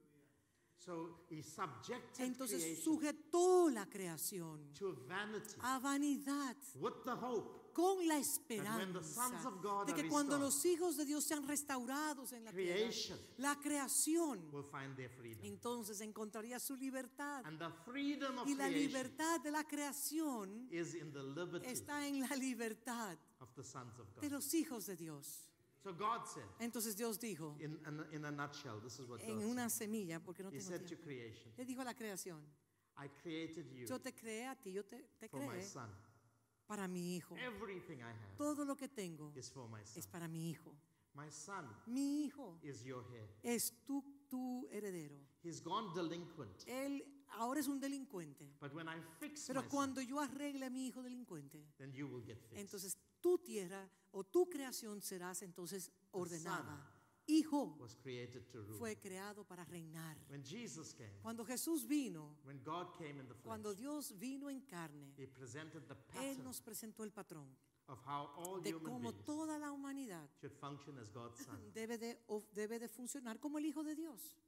So he subjected Entonces creation sujetó la creación to vanity a vanidad with the hope con la when the sons esperanza of God de are que cuando restored, los hijos de Dios sean restaurados en la tierra, creation la creación will find their freedom. entonces encontraría su libertad. And the freedom of Y la creation libertad de la creación is in the liberty está en la libertad of the sons of de God. los hijos de Dios. So God said, Entonces Dios dijo, in, in, in a nutshell, this is what en God una said. semilla, porque no He tengo said to tiempo, creation, le dijo a la creación, I created you yo te creé a ti, yo te, te for my creé son. para mi hijo. Everything I have Todo lo que tengo is for my son. es para mi hijo. My son Mi hijo is your heir. es tu, tu heredero. He's gone delinquent. Él ahora es un delincuente. But when I fix Pero my son, cuando yo arregle a mi hijo delincuente, then you will get fixed. entonces tu tierra o tu creación serás entonces ordenada. son Hijo was created to rule. fue creado para reinar. When Jesus came, Cuando Jesús vino, when God came in the flesh, cuando Dios vino en carne, He presented the Él pattern nos presentó el patrón of how all de human cómo beings toda la humanidad should function as God's son. debe de, o debe de funcionar como el Hijo de Dios.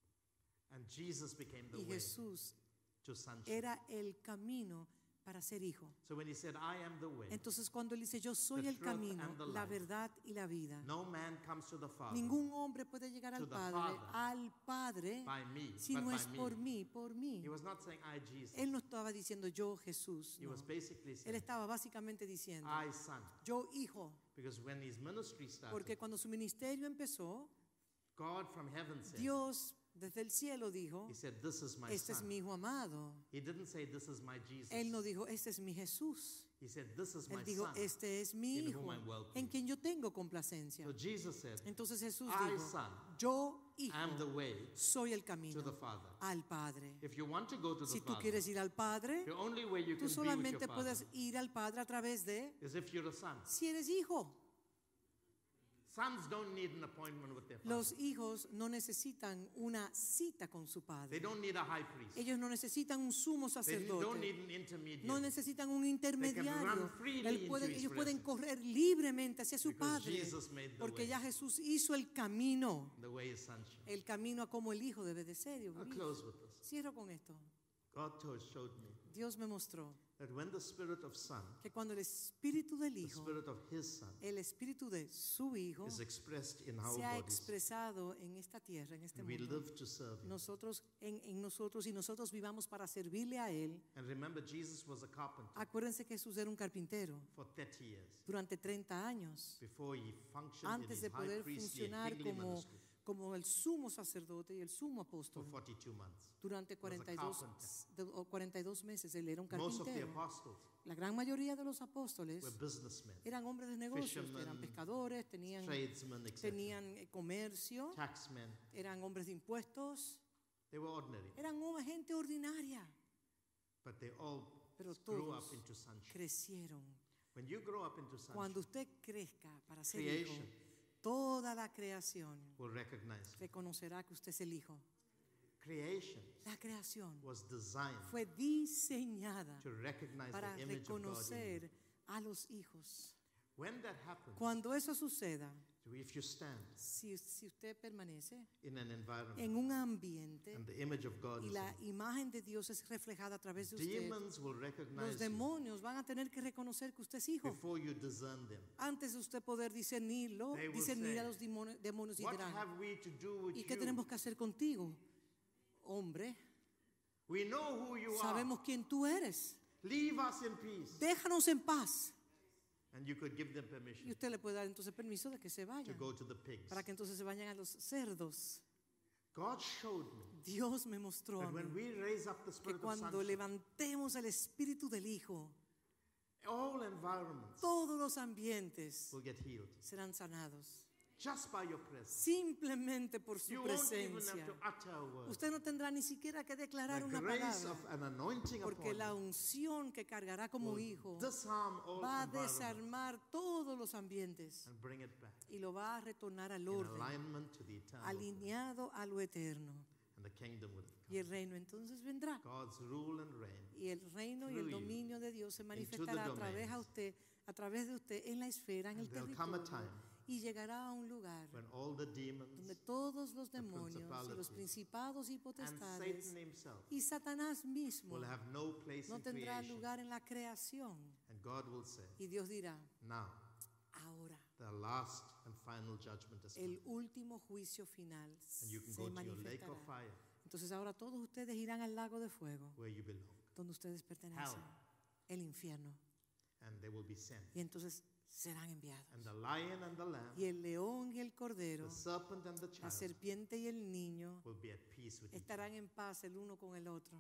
And Jesus became the Y way Jesús to sonship. era el camino para ser hijo. So when He said, I am the way, Entonces cuando Él dice, yo soy The el truth camino, and the la life. verdad y la vida, no man comes to the Father ningún hombre puede llegar to al the Padre, Father al Padre, by me, si but no by es me. por mí, por mí. He was not saying, I, Jesus. Él no estaba diciendo yo Jesús, He no. was basically Él saying, estaba básicamente diciendo I, son. yo hijo, Because when His ministry started, porque cuando su ministerio empezó, God from heaven said, Dios desde el cielo dijo, He said, this is my este es son. mi hijo amado. He didn't say, this is my Jesus. Él no dijo, este es mi Jesús. He said, this is my Él dijo, son. este es mi in hijo, whom I'm well en pleased. quien yo tengo complacencia. So Jesus said, Entonces Jesús I, dijo, son, yo hijo, am the way soy el to camino the Father. al Padre. If you want to go to the Si tú Father, quieres ir al Padre, the only way you tú can be with solamente your Father puedes ir al Padre a través de, is if you're a son. si eres hijo. Sons don't need an appointment with their father. Los hijos no necesitan una cita con su They padre. don't need a high priest. Ellos no necesitan un sumo They don't sacerdote. need an intermediate. No necesitan un run intermediario. freely Él into pueden- his ellos pueden presence. correr libremente hacia su Because padre. Jesus made the Porque way. ya Jesús hizo el camino. The way is sonship. El camino a como el hijo debe de ser. Dios I'll mío. close with this. Cierro con esto. God told, showed me Dios me mostró that when the spirit of son, que cuando el espíritu del the hijo, spirit of his son, el espíritu de su hijo, is expressed in our se ha bodies, expresado en esta tierra, en este and we mundo, live to serve him. nosotros en, en nosotros y nosotros vivamos para servirle a él. And remember, Jesus was a carpenter Acuérdense que Jesús era un carpintero for thirty years durante treinta años before he functioned in antes his de high poder priestly and funcionar kingly como, ministry como el sumo sacerdote y el sumo for apóstol. forty-two months. Durante cuarenta y dos, de- o cuarenta y dos meses él era un Most of the carpintero. apostles La gran mayoría de los apóstoles were businessmen, eran hombres de negocios, Fishermen, eran pescadores, tenían, tradesmen, et cetera, tenían eh, comercio, taxmen. eran hombres de impuestos, They were ordinary, eran hom- gente ordinaria, but they all pero grew up todos into sonship. crecieron. When you grow up into Cuando sonship, usted crezca para ser hijo, creation toda la creación will recognize you. reconocerá que usted es el hijo. Creation La creación was designed fue diseñada to recognize para the image of God in you. reconocer a los hijos. When that happens, Cuando eso suceda, if you stand si, si usted permanece in an environment en un ambiente and the image of God y is la in imagen de Dios es reflejada a través de you, usted, demons will los recognize you demonios van a tener que reconocer que usted es hijo. before you discern them. Antes de usted poder discernirlo, They will discernir say, a los demonios, demonios y What dirán, have we to do with ¿y qué you? tenemos que hacer contigo? Hombre, We know who you are. sabemos quién tú eres. Leave us in peace. Déjanos en paz. And you could give them Y permission usted le puede dar entonces permiso de que se to vayan, go to the pigs. para que entonces se vayan a los cerdos. God showed me Dios me mostró a that mí when we raise up the que spirit of cuando sonship, levantemos el espíritu del Hijo, all environments todos los ambientes will get healed serán sanados. just by your presence. Simplemente por su You won't even presencia. have to utter a word. Usted no tendrá ni siquiera que declarar The una grace palabra, of an anointing porque upon la you unción que cargará como will hijo disarm all va a environments desarmar todos los ambientes and bring it back y lo va a retornar al in orden, alignment to the eternal will. alineado a lo eterno. And the kingdom will come. Y el reino entonces vendrá. God's rule and reign Y el reino y el through you dominio de Dios se the manifestará a través, a domains. usted, a través de usted en la esfera, en el And there'll come a territorio. time Y llegará a un lugar when all the demons donde todos los the demonios y los principalities, principados y and potestades Satan himself y Satanás mismo will have no place no in tendrá creation. lugar en la creación. And God will say, Y Dios dirá, now ahora the last and final judgment is come. el último juicio final And you can se go to your lake of manifestará. fire Entonces ahora todos ustedes irán al lago de fuego where you belong. donde ustedes pertenecen, el infierno. And they will be sent. Y entonces serán enviados. And the lion and the lamb, Y el león y el cordero, the serpent and the la child serpiente y el niño will be at peace with each other. estarán en paz el uno con el otro.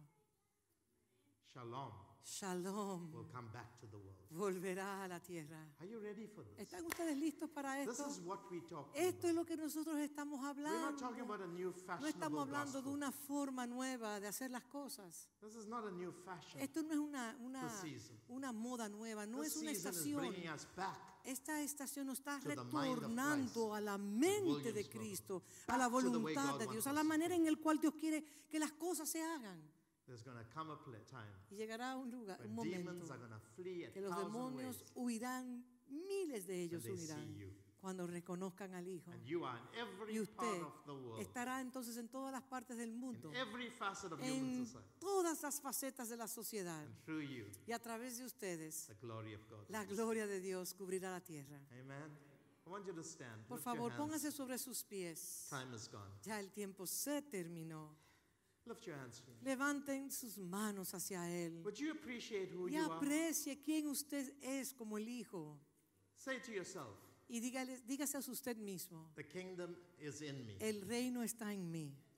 Shalom Shalom will come back to the world. volverá a la tierra. Are you ready for this? ¿Están ustedes listos para This esto? is what we talk Esto es about. lo que nosotros estamos We're not hablando. talking about a new No estamos fashionable hablando de gospel. una forma nueva de hacer las cosas. This is not a new fashion. Esto no es una, una, This season. una moda nueva, no This es una season is estación. bringing us back Esta estación nos está to the mind of retornando Christ, a la mente de Williams Cristo, spoke. a la Back to the way voluntad God de wants Dios, a us la to manera do. en la cual Dios quiere que las cosas se hagan. There's going to come a pla- time Y llegará un lugar, un when momento, demons are going to flee a que los thousand demonios ways huirán, miles de ellos when they huirán, see you. cuando reconozcan al Hijo. And you are in every Y part usted of the world, estará entonces en todas las partes del mundo, in every facet of human en society. todas las facetas de la sociedad. And through you, Y a través de ustedes, the glory of God. la will be gloria de Dios cubrirá la tierra. seen. Amen. I want you to stand. Por Lift your favor, hands. póngase sobre sus pies. Time is gone. Ya el tiempo se terminó. Lift your hands. to him. Levanten sus manos hacia Él Would you appreciate who y you are? aprecie quién usted es como el Hijo. Say to yourself, Y dígale, dígase a usted mismo, the kingdom is in me. el reino está en mí.